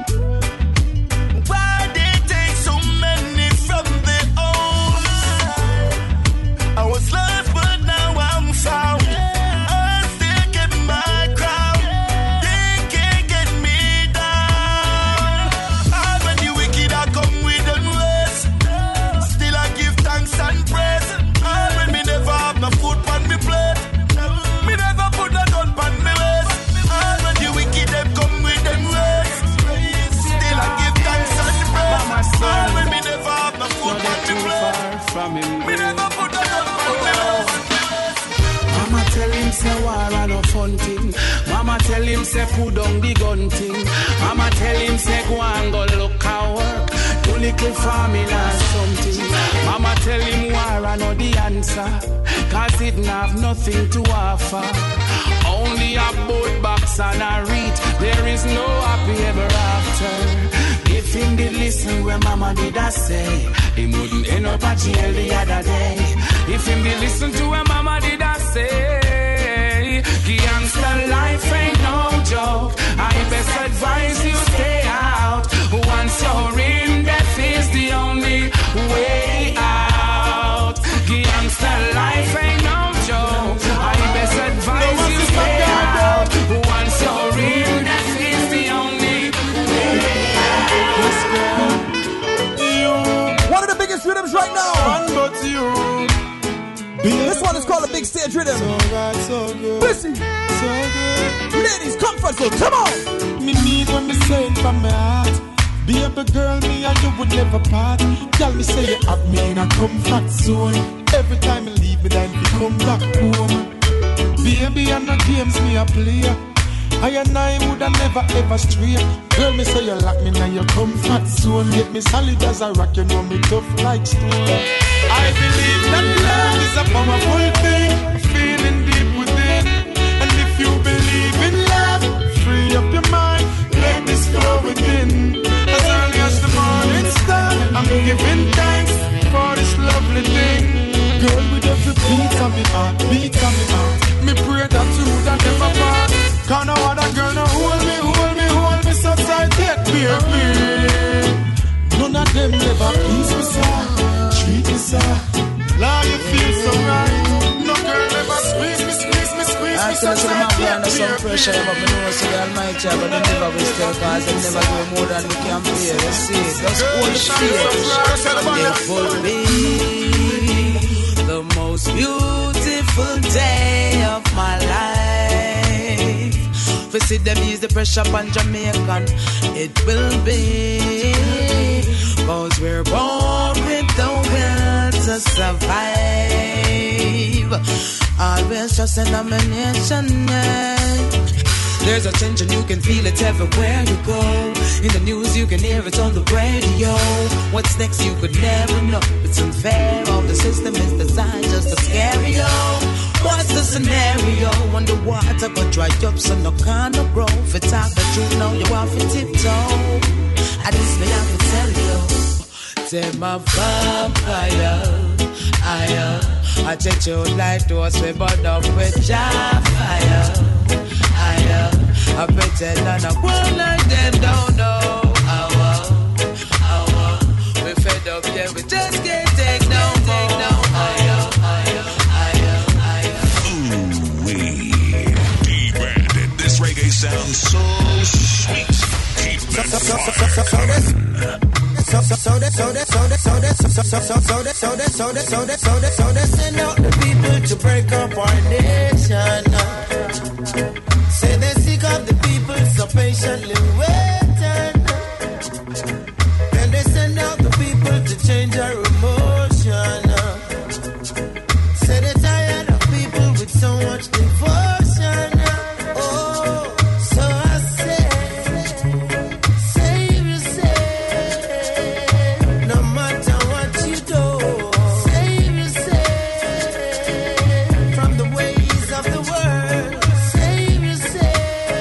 why they take so many from their own. I was lost but now I'm found. I still get my crown. They can't get me down. And when the wicked are come with them ways, still I give thanks and praise. And when me never have my foot on me plate, me never put that on pan me waist. And when the wicked them come with them ways, still I give thanks and praise. And when me never have my foot on me plate, me never put that on pan me waist. Mama tell him say war and no fun thing. Mama tell him say put down the gun thing. Mama tell him say go and go look at work, do little farming or something. Mama tell him war and no the answer, cause it have nothing to offer. Only a boat box and a reach, there is no happy ever after. If him did listen when mama did I say, he wouldn't end up at jail the other day. If him did listen to when mama did I say, gangster life ain't no joke. I best advise you stay out. Once you're in, death is the only way out. Gangster life ain't no joke. I best advise you stay out. Once you're in, death is the only way out. One of the biggest rhythms right now. One but you. This one is called a big stage rhythm. So right, so good. Listen. So good. Ladies, comfort zone, come on. Me need when me say it from my heart. Be a big girl, me and you would never part. Tell me say you have me in a comfort zone. Every time you leave me, then you come back home. Baby, and the games me a play. I and I woulda never ever stray. Girl, me say you lock me in your comfort zone. Get me solid as a rock, you know me tough like stone. I believe that love is a powerful thing, feeling deep within. And if you believe in love, free up your mind, let this flow within. As early as the morning star, I'm giving thanks for this lovely thing. Girl, with every beat of me heart, beat of me heart, me pray that you would never part. Cause no other girl no hold me, hold me, hold me so tight yet, baby. never shy, but me know so the Almighty, but they never will stay, cause they never do more than we can pay. You see, just hold the faith. It will be the most beautiful day of my life. We see them ease the pressure upon Jamaican. It will be, cause we're born with the will to survive. Always just in a nation. There's a change and you can feel it everywhere you go. In the news you can hear it on the radio. What's next you could never know. It's unfair, all the system is designed just to scare you. What's the scenario? Underwater but dry up so no kind of grow. For talk the truth now you have to tiptoe. At least me have to tell you. Take my vampire, I attitude like those we burn up with jar fire. I pretend and I grow like them don't know. Our, our, we fed up, yeah, we just can't take no more. No, higher, higher, higher, higher. Ooh, wee. D-Bandit. This reggae sounds so sweet. Keep it fun. So so so that so that so that so that so so so so that so that so that so that so that so that send out the people to break up our nation. Say they seek of the people so patiently waiting. And they send out the people to change our emotion. Say they're tired of people with so much devotion. Oh, so I say, save yourself. No matter what you do, save yourself from the ways of the world. Save yourself.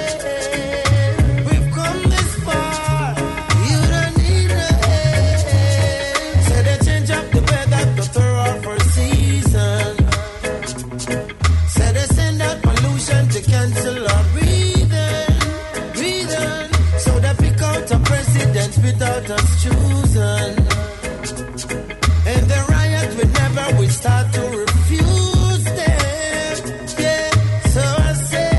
We've come this far. You don't need no help. Say they change up the weather to throw off our season. Say they send out pollution to cancel our breathing, breathing. So they pick out a president without us choosing. And the riot we never will start to refuse them. Yeah, so I say,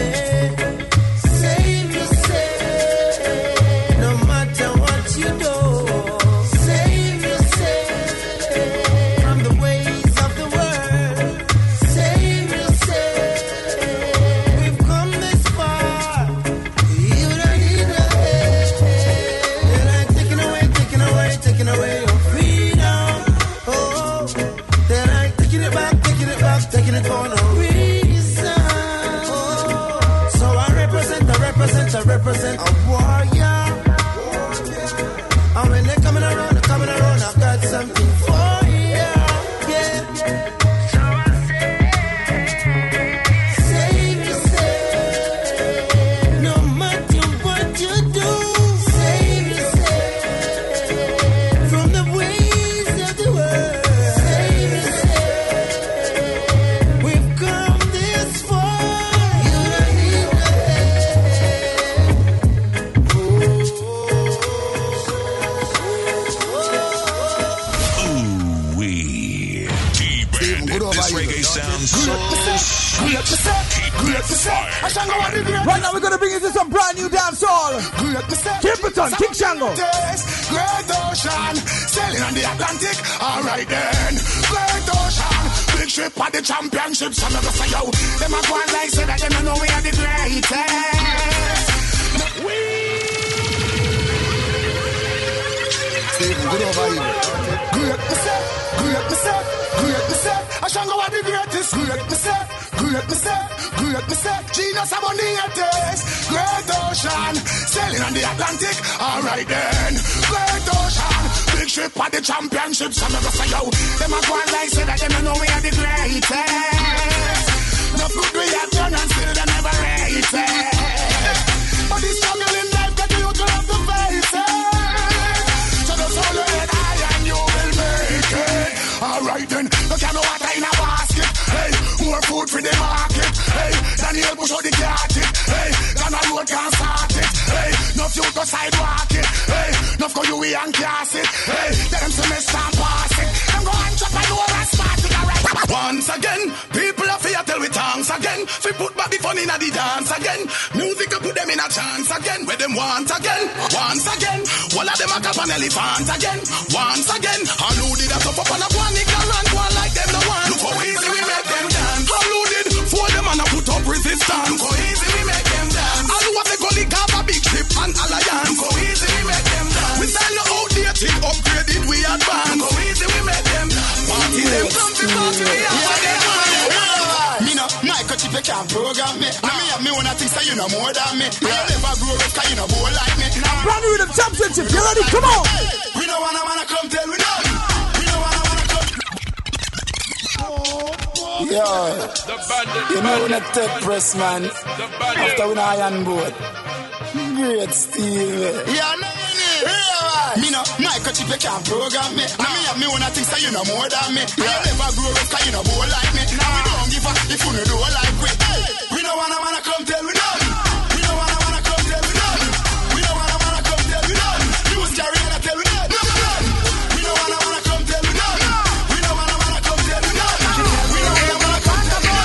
save yourself. No matter what you do, save yourself from the ways of the world. Save yourself. We've come this far. You don't need no help. They're like taking away, taking away, taking away your freedom. Oh, they're like taking it back, taking it back, taking it for no reason. Oh, so I represent, I represent, I represent a warrior. And when they're coming around, they're coming around, I've got something for you. Yeah. So I say, save yourself. No matter what you do, save yourself from the ways of the world. Save yourself. We've come this far. You don't need no Ooh, wee. D-Bandit. This reggae sounds so sweet. Keep it fire. Right now we're gonna bring you to some brand new dancehall. Kimpleton, King Shango. Great Ocean, sailing on the Atlantic. All right then, Great Ocean, big ship at the championship. Some of us say yo, them a go on like say that they don't know we are the greatest. We. Stephen, good over here. Great myself, great myself, great myself. I Shango are the greatest. Great myself, great myself, great myself. Genius I'm on the greatest. Great Ocean, sailing on the Atlantic. All right then, Great Ocean, big ship at the championship. Some of us say yo, them a go on like say that they don't know we are the greatest. No good we have done and still they never rate it. But the struggle in life that you to have to face it. So just hold your head high and you will make it. All right then, look at no water in a basket. Hey, more food for the market. Hey, Daniel Bush or the cat it. Hey, Ghana road can't start it. Hey, no fuel go sidewalk it. Hey, no go you we and cast it. Hey, them semester pass it. Them go and chop and over and start it. Alright. Once again, people are fear tell we thanks again. Fi put back the fun in the dance again. Music to put them in a chance again. Where them want again, once again. All of them a cap an elephant again. Once again, how loaded a top up on a one ignorant one like them no one. Look how easy we make them dance. How loaded for them and a put up resistance. Look how easy we make them dance. All who have the gully have a big ship and alliance. Look how easy we make them dance. We style no outdated, upgraded, we advance. Look how easy we make them dance. Party them, country party, we have what they want. Me no, my coach if you can't program me. Now me have me one thing so you know more than me. I never grow up cause you know more like me. Brand new rhythm championship, you ready? Come on! We don't wanna wanna come tell we know. We don't wanna wanna come. Yo, you know we not take press, man. After we not iron board. Great Steve. Yeah, no, me no, my coach if you can't program me. Now me have me one thing so you know more than me. I never grow up cause you know more like me. Now we don't give a if you know like we. We don't wanna wanna come tell we know. We don't wanna wanna come tell we know. We don't wanna wanna come tell we know. Use Jerry and I tell we know. We don't wanna wanna come tell we know. We don't wanna wanna come tell we know. We don't wanna wanna come tell we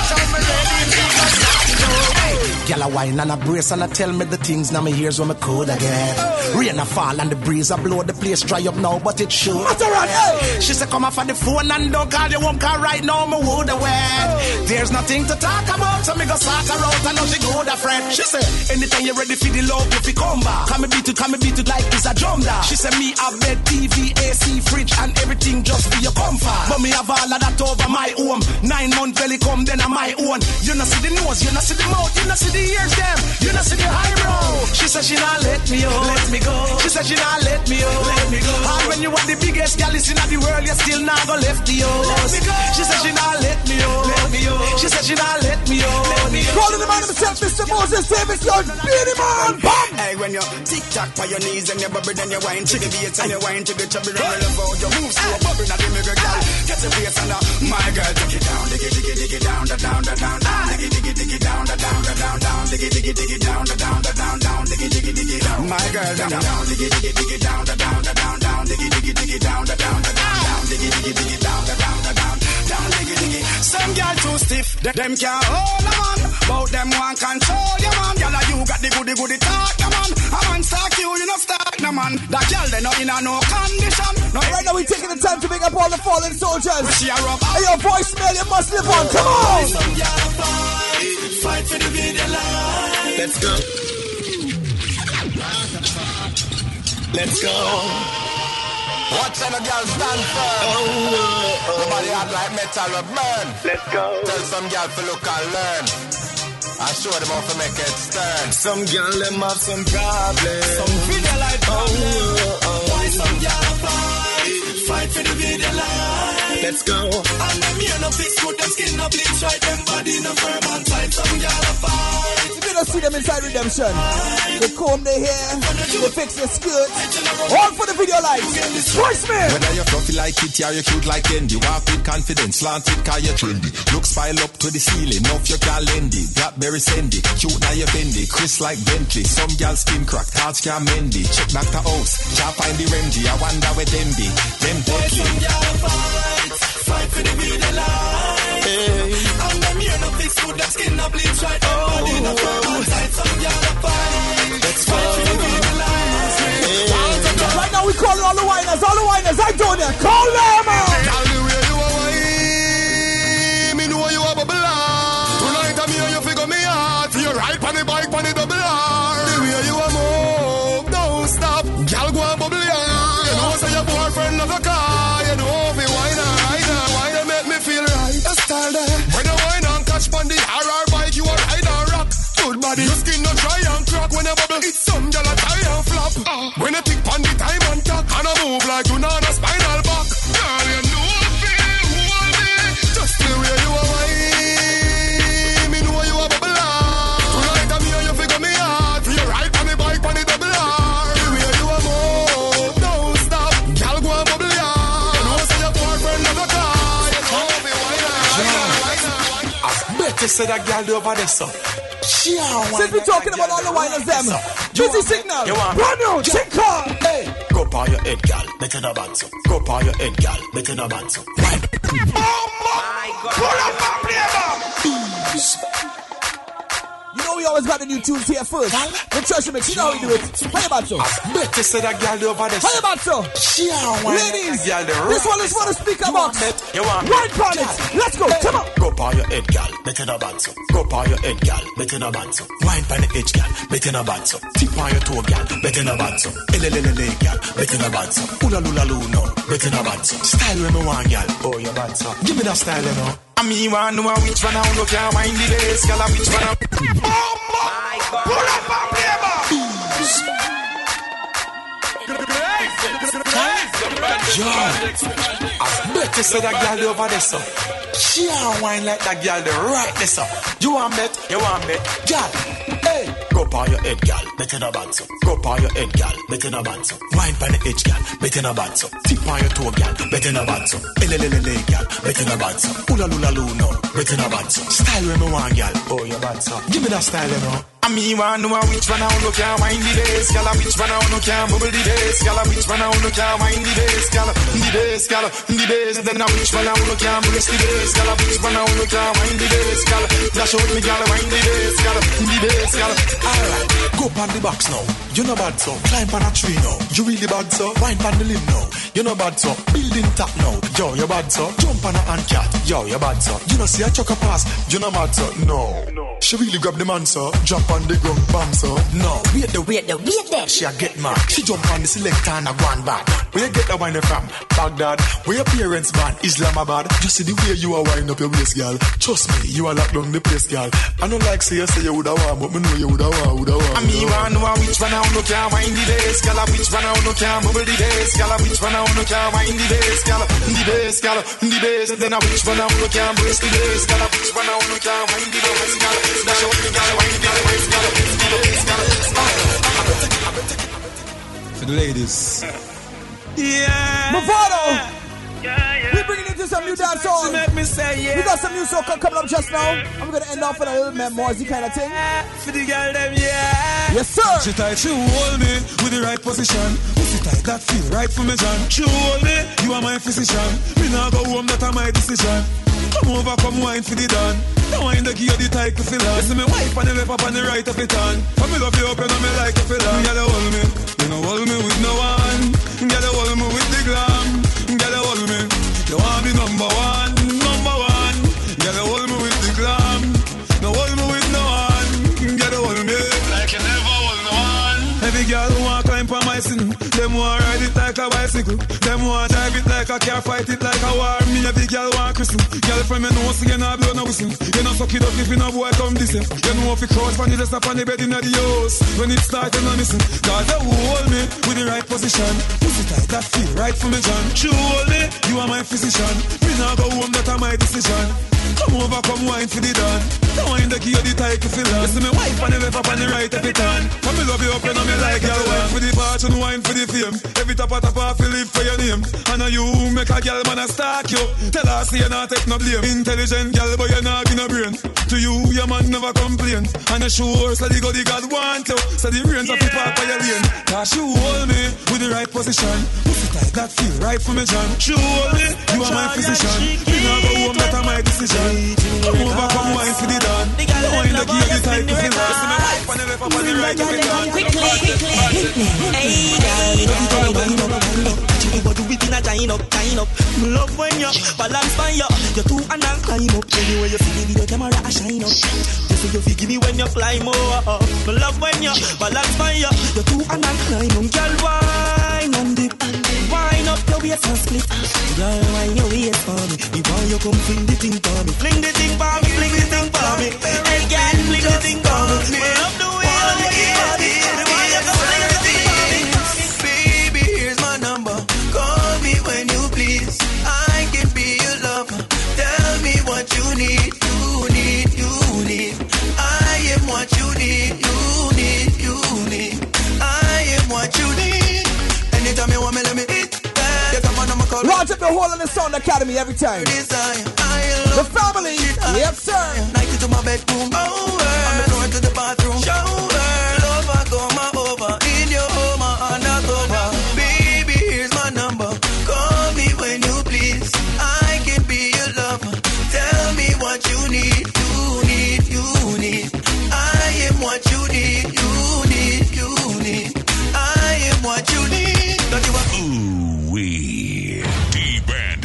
know. Girl a wine and a brace and a tell me the things now me ears when me cold again. Rain a fall and the breeze a blow the place dry up now but it should. Hey. She said come off on the phone and don't call you home cause right now me would have wet. There's nothing to talk about so me go start her out and now she go the friend. She said anytime you're ready for the love if you come back. Come me beat it, come me beat it like it's a drum da. She said me have bed, T V, A C, fridge and everything just for your comfort. But me have all of that over my home. Nine month belly come then on my own. You not see the nose, you not see the mouth, you not see the ears them, you not see the eyebrow. She said she not let me out, let me go. She said she not let me out, let me go. And when you are the biggest gal in the world, you still not go left the house. She said she not let me out, let me out. She said she not let me out, let me out. Calling the man himself, Mister Moses Davis, your Beanie Man. Bam! Hey, when you tick tock by your knees and you bubble, then you wine to the beats and you wine to the chubby roll about your moves to a bubble, now the nigga girl get your face and my girl take it down, dig it, dig it, dig it down, down, down, down, down, dig it, dig it, dig it down, down, down, down, dig it, dig it, dig it down, down, down, down, dig it, dig it, dig it down, my girl down, down, dig it, dig it, dig it down, down, down, down, dig it, dig it, dig it down, down, down, down, dig it, dig it, dig it down, down, down, down, dig it, dig it. Some girl too stiff, them can't hold a man, but them want control you man. Girl, you got the goody goody talk, no man. A man stalk you, you know stalk, no man. That girl they not in a no condition. No. Right now we taking the time to pick up all the fallen soldiers. Hey, your voicemail, you must live on. Come on. Fight for the video line. Let's go. Let's go. Watch them girls stand firm. Oh, oh, oh. Nobody act like metal or burn. Let's go. Tell some girl to look and learn. I show them how to make it stern. Some girl them have some problems. Some video like problems. Oh, oh, oh. Why some girl fight? Fight for the video line. Let's go. And them here no fix good, them skin no bleach right, them body no firm and tight. Some girl fight. You don't see them inside Redemption. They comb their hair, they fix their skirts. All for the video lights. Voicemail. Whether you're fluffy like Kitty or you're cute like Candy, walk with confidence, slanted car you're trendy. Looks pile up to the ceiling, off your gal Lendy. Blackberry Sandy, cute now you're bendy. Chris like Bentley, some gal skin crack, hearts can't mendy. Check knock the house, can't find the remedy. I wonder where them be, them deadly. Some gal fight, fight for the video light. Hey. And them here no fix good, them skin no bleach right, them body no firm and tight. Some gal fight, let's fight for the video light. Hey. Right now we calling all the whiners, all the whiners, I don't know, call them out. Tell the way you are wine, me know you are bubble art. Tonight I'm here, you figure me out. You ride on the bike, on the double R. The way you are move, don't stop. Girl go and bubble yard. You know say your boyfriend have a car. You know me wine and ride and wine and make me feel right. That's style there. When you wine and catch on the R R bike, you are ride and rock. Good body, your skin no dry and crack when you bubble. It's some girl a tie and flop. Uh, when you pick on the time and talk, and I move like you know on a spinal back. Girl, you know me, hold me. Just the way you are wine, me know you are bubble art. Tonight I'm here, you figure me out. You ride on the bike, on the double R. The way you are move, don't stop. Girl, go and bubble yard. You know say your boyfriend never car. You know me wine and wine and wine. I bet you say that girl over there, so. Since we're talking about all the whiners, them busy signal, brand new, chick car. Hey, go up on your head, gal. Better no bad so. Go on your head, gal. Better no bad so. My God. Pull up and play back. You know we always got the new tunes here first. The treasure mix, you know how we do it. How about so? Better say that girl over there. How about so? Ladies, this one is for the speaker box. Right on it. Let's go. Come on. Go on your head, gal. Better no bad so. Go on your head, gal. Better no bad so. Wine on the edge, gal. Better no bad so. Tip on your toe, gal. Better no bad so. Elelelele, gal. Better no bad so. Ula lula no. Better no bad so. Style when me want, gal. Oh, you bad so. Give me that style, you know. I mean, want to know which one I look at. Wind the bass, gal. Which one I... My God. Pull up and play back. Yo, I bet you say that girl over there, so. She a wine like that girl, the right there, so. You want bet? You want bet? Girl, hey. Go on your head, gal. Better no bad so. Go on your head, gal. Better no bad so. Wine on the edge, gal. Better no bad so. Tip on your toe, gal. Better no bad so. Elelelele, gal. Better no bad so. Ula lula no. Better no bad so. Style when me want, gal. Oh, you bad so. Give me that style, you know. I mean, want to know which one I look at. Wind the bass, gal. Which one I look at. Bubble the bass, gal. Which one I look at. Wind the bass, gal. The bass, gal. The bass. Then I which one I look at. Bless the bass, gal. Which one I look at. Wind the bass, gal. Dash out me, gal. Wind the bass, gal. The bass, gal. Alright, go on the box now. You know bad so. Climb on a tree now. You really bad so. Wine on the limb now. You know bad so. Building top now. Yo, you bad so. Jump on a hand cat. Yo, you bad so. You know see a chuck a pass. You know bad so. No. She really grab the man so. Jump on the ground, bam so. No. Wait the wait the wait there. She a get mad. She jump on the selector and a go on back. Where you get the wine from? Baghdad. Where your parents born? Islamabad. Just see the way you are wind up your waist, girl. Trust me, you are locked down the place, girl. I don't like say you say you woulda want, but me know you woulda want, woulda want. I mean, want know which one I look at, wind the bass, girl. Which one I look at, bubble the bass, girl. Which one I look at, wind the bass, girl. The bass, girl. The bass. Then I which one I look at, brace the bass, girl. Which one I look at, wind the bass, girl. Dash out the girl, wind the bass, girl. The bass, girl. For the ladies. Yeah. Movado. Yeah, yeah. We bringing into some new dance songs. Make me say yeah. We got some new soca coming up just now. I'm gonna end off with a little memoirsy kind of thing. For the girl them, yeah. Yes, sir. She tight, she hold me with the right position. Pussy tight, that feel right for me, John. She hold me, you are my physician. Me now go home, that are my decision. Come over, come wine for the dawn. Don't wine the key of the tight to fill on. Listen me wife on the left up on the right of it on. Come me love you up and me like to fill on. Girl, you hold me, you know hold me with no one. Girl, you hold me with the glam. Girl, you hold me, you want me number one, number one. Girl, you hold me with the glam. No hold me with no one. Girl, you hold me like you never hold no one. Every girl who want climb on my sin, them want ride it like a bicycle. Them want drive it like a car, fight it like a war. Me every girl want christen. Girl from me know so you not blow no whistle. You know suck it up if you no boy come this way. You know if you crouch on the rest up on the bed in the house. When it start you no missing. Cause you hold me with the right position. Pussy tight that feel right for me John. You hold me, you are my physician. Me now go home, that are my decision. Come over, come wine for the dawn. Don't wine the key of the tight to fill on. Listen me wife on the left up on the right of it on. Come me love you up and me like girl wine for the fortune, wine for the fame. Every top of top off you live for your name. And now you make a girl man a stalk you. Tell her say you not take no blame. Intelligent girl but you not give no brain. To you your man never complain. And I sure so the God the God want you. So the brains of the park by your lane. Cause you hold me with the right position. Pussy tight that feel right for me John. You hold me, you are my physician. Me now go home, that are my decision. Come over, come wine for the dawn. Don't wine the key of the tight to fill on. Listen me wife on the left up on the right of it on. Quickly, quickly. Hey, girl, you know wind up, wind up. You go do it in a giant up, giant up. Me love when you balance by you. You two and I climb up. Anyway you see the camera a shine up. You say you feel give me when you climb up. Me love when you balance by you. You two and I climb up. Girl, wine and dip, wine up your waist and split. Girl, wine your waist for me. The boy you come fling the thing for me. Fling the thing for me, fling the thing for me. Hey girl, fling the thing for me. Me love the way you lick it. The boy you come fling the thing for me. Baby, here's my number. Call me when you please. I can be your lover. Tell me what you need. You need, you need. I am what you need. You need, you need. I am what you need. Anytime you want me, let me eat. Launch up the whole of the Sound Academy every time. The family, yes sir. Night into my bedroom, over. I'm going to the bathroom, shower. Lover, come over. In your home, undercover. Baby,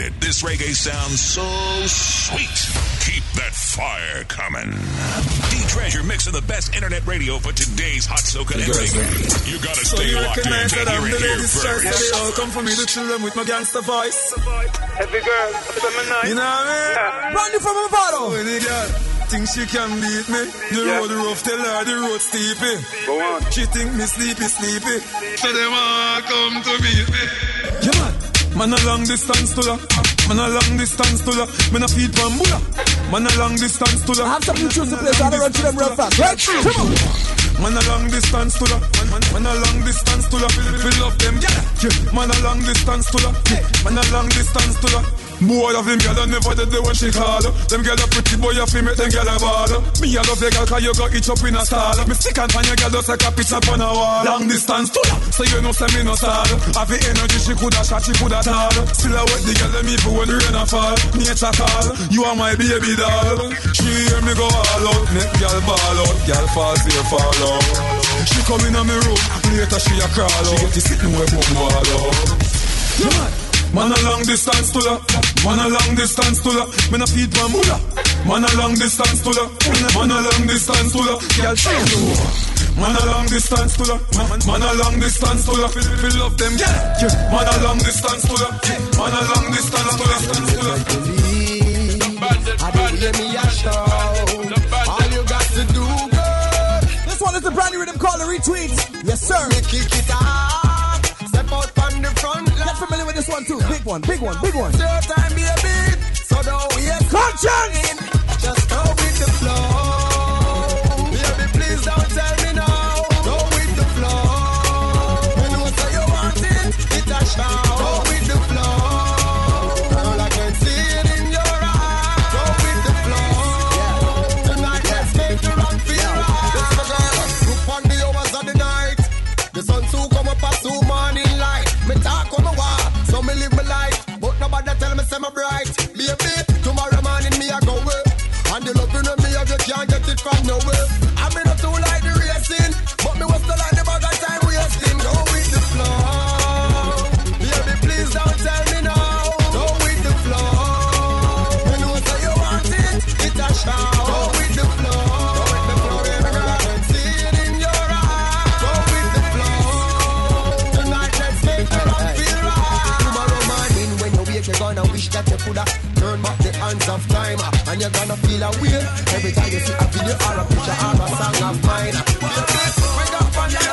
it. This reggae sounds so sweet. Keep that fire coming. D-Treasure mixing the best internet radio for today's hot soca and reggae. You gotta So stay you locked in recognize to that I'm hear the it here ladies' choice, so they all first. come for me to chill them with my gangster voice. Every girl, feminine. You know what I mean? Brand new from Movado. When the girl think she can beat me, the Yeah. road rough, tell her the road steepy. Go on. She think me sleepy, sleepy. So them all come to meet me. Yeah, man. Man a long distance to la. Man a long distance to la. Man a feed bambula. Man a long distance to la. I have some new tunes to play, so I'll run through them real fast. Right? Come on. Man a long distance to la. Man, man, man a long distance to la. Fill up them, yeah. yeah. Man a long distance to la. Man a long distance to la. Boy of them gyal never did the when she call. Them gyal a pretty boy a fi make them gyal a ball. Me a love the gyal 'cause you got itch up in a stall. Me stick and pan your gyal just like a picture on a wall. Long distance to la, so you know say me no sad. Have the energy she coulda shot, she coulda tall. Still a wet the gyal them even when the rain a fall. Nature call, you are my baby doll. She hear me go all out, make gyal ball out. Gyal fall here, fall out. She come in on me room, later she a crawl out. She get to sitting where boom wall out. Yeah, man. Man a long distance to la. Man a long distance to la. Man a feed bambula. Man a long distance to la. Man a long distance to la. Girl, change you. Man a long distance to la. Man, man a long distance to la. Fill, fill up them, yeah. yeah. Man a long distance to la. Man a long distance to la. To la. I don't hear me a shout. All you got to do, girl. This one is a brand new rhythm called a retweet. Yes, sir. Me kick it up. Step out on the front line. Get familiar with this one too. Big one, big one, big one. Your time, baby. So don't waste conscience. Just go with the flow. Baby, please don't tell me no. Go with the flow. You know say you want it. It's a shout. Go with the flow. Girl, I can see it in your eyes. Go with the flow. Tonight, let's make the rock feel right. This is the girl. Look on the hours of the night. The sun soon come up as soon morning light. Me talk on my wall, so me live my life. But nobody tell me say me bright. Baby, tomorrow morning me a go away. And the loving of me, you can't get it from nowhere. I mean not too like the racing, but me was still like the bag of time wasting. Go with the flow. Baby, please don't tell me no. Go with the flow. You know say you want it, it's a shout. Go with the flow. Go with the flow, baby girl. I can see it in your eyes. Go with the flow. Tonight let's make the rock feel right. Tomorrow morning when you wake, you're gonna wish that you coulda turn back the hands of time, and you're gonna feel a way every time you see a video or a picture or a song of mine. Wake up on the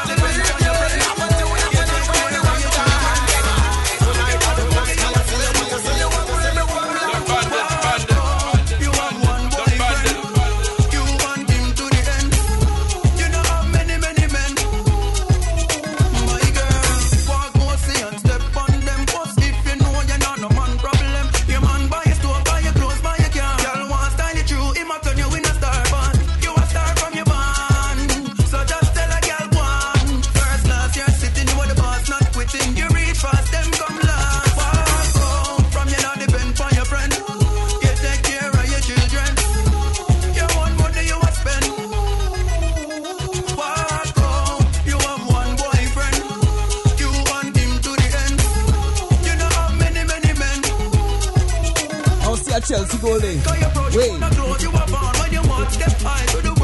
Chelsea Golding. Wait. You are born when you want step high to the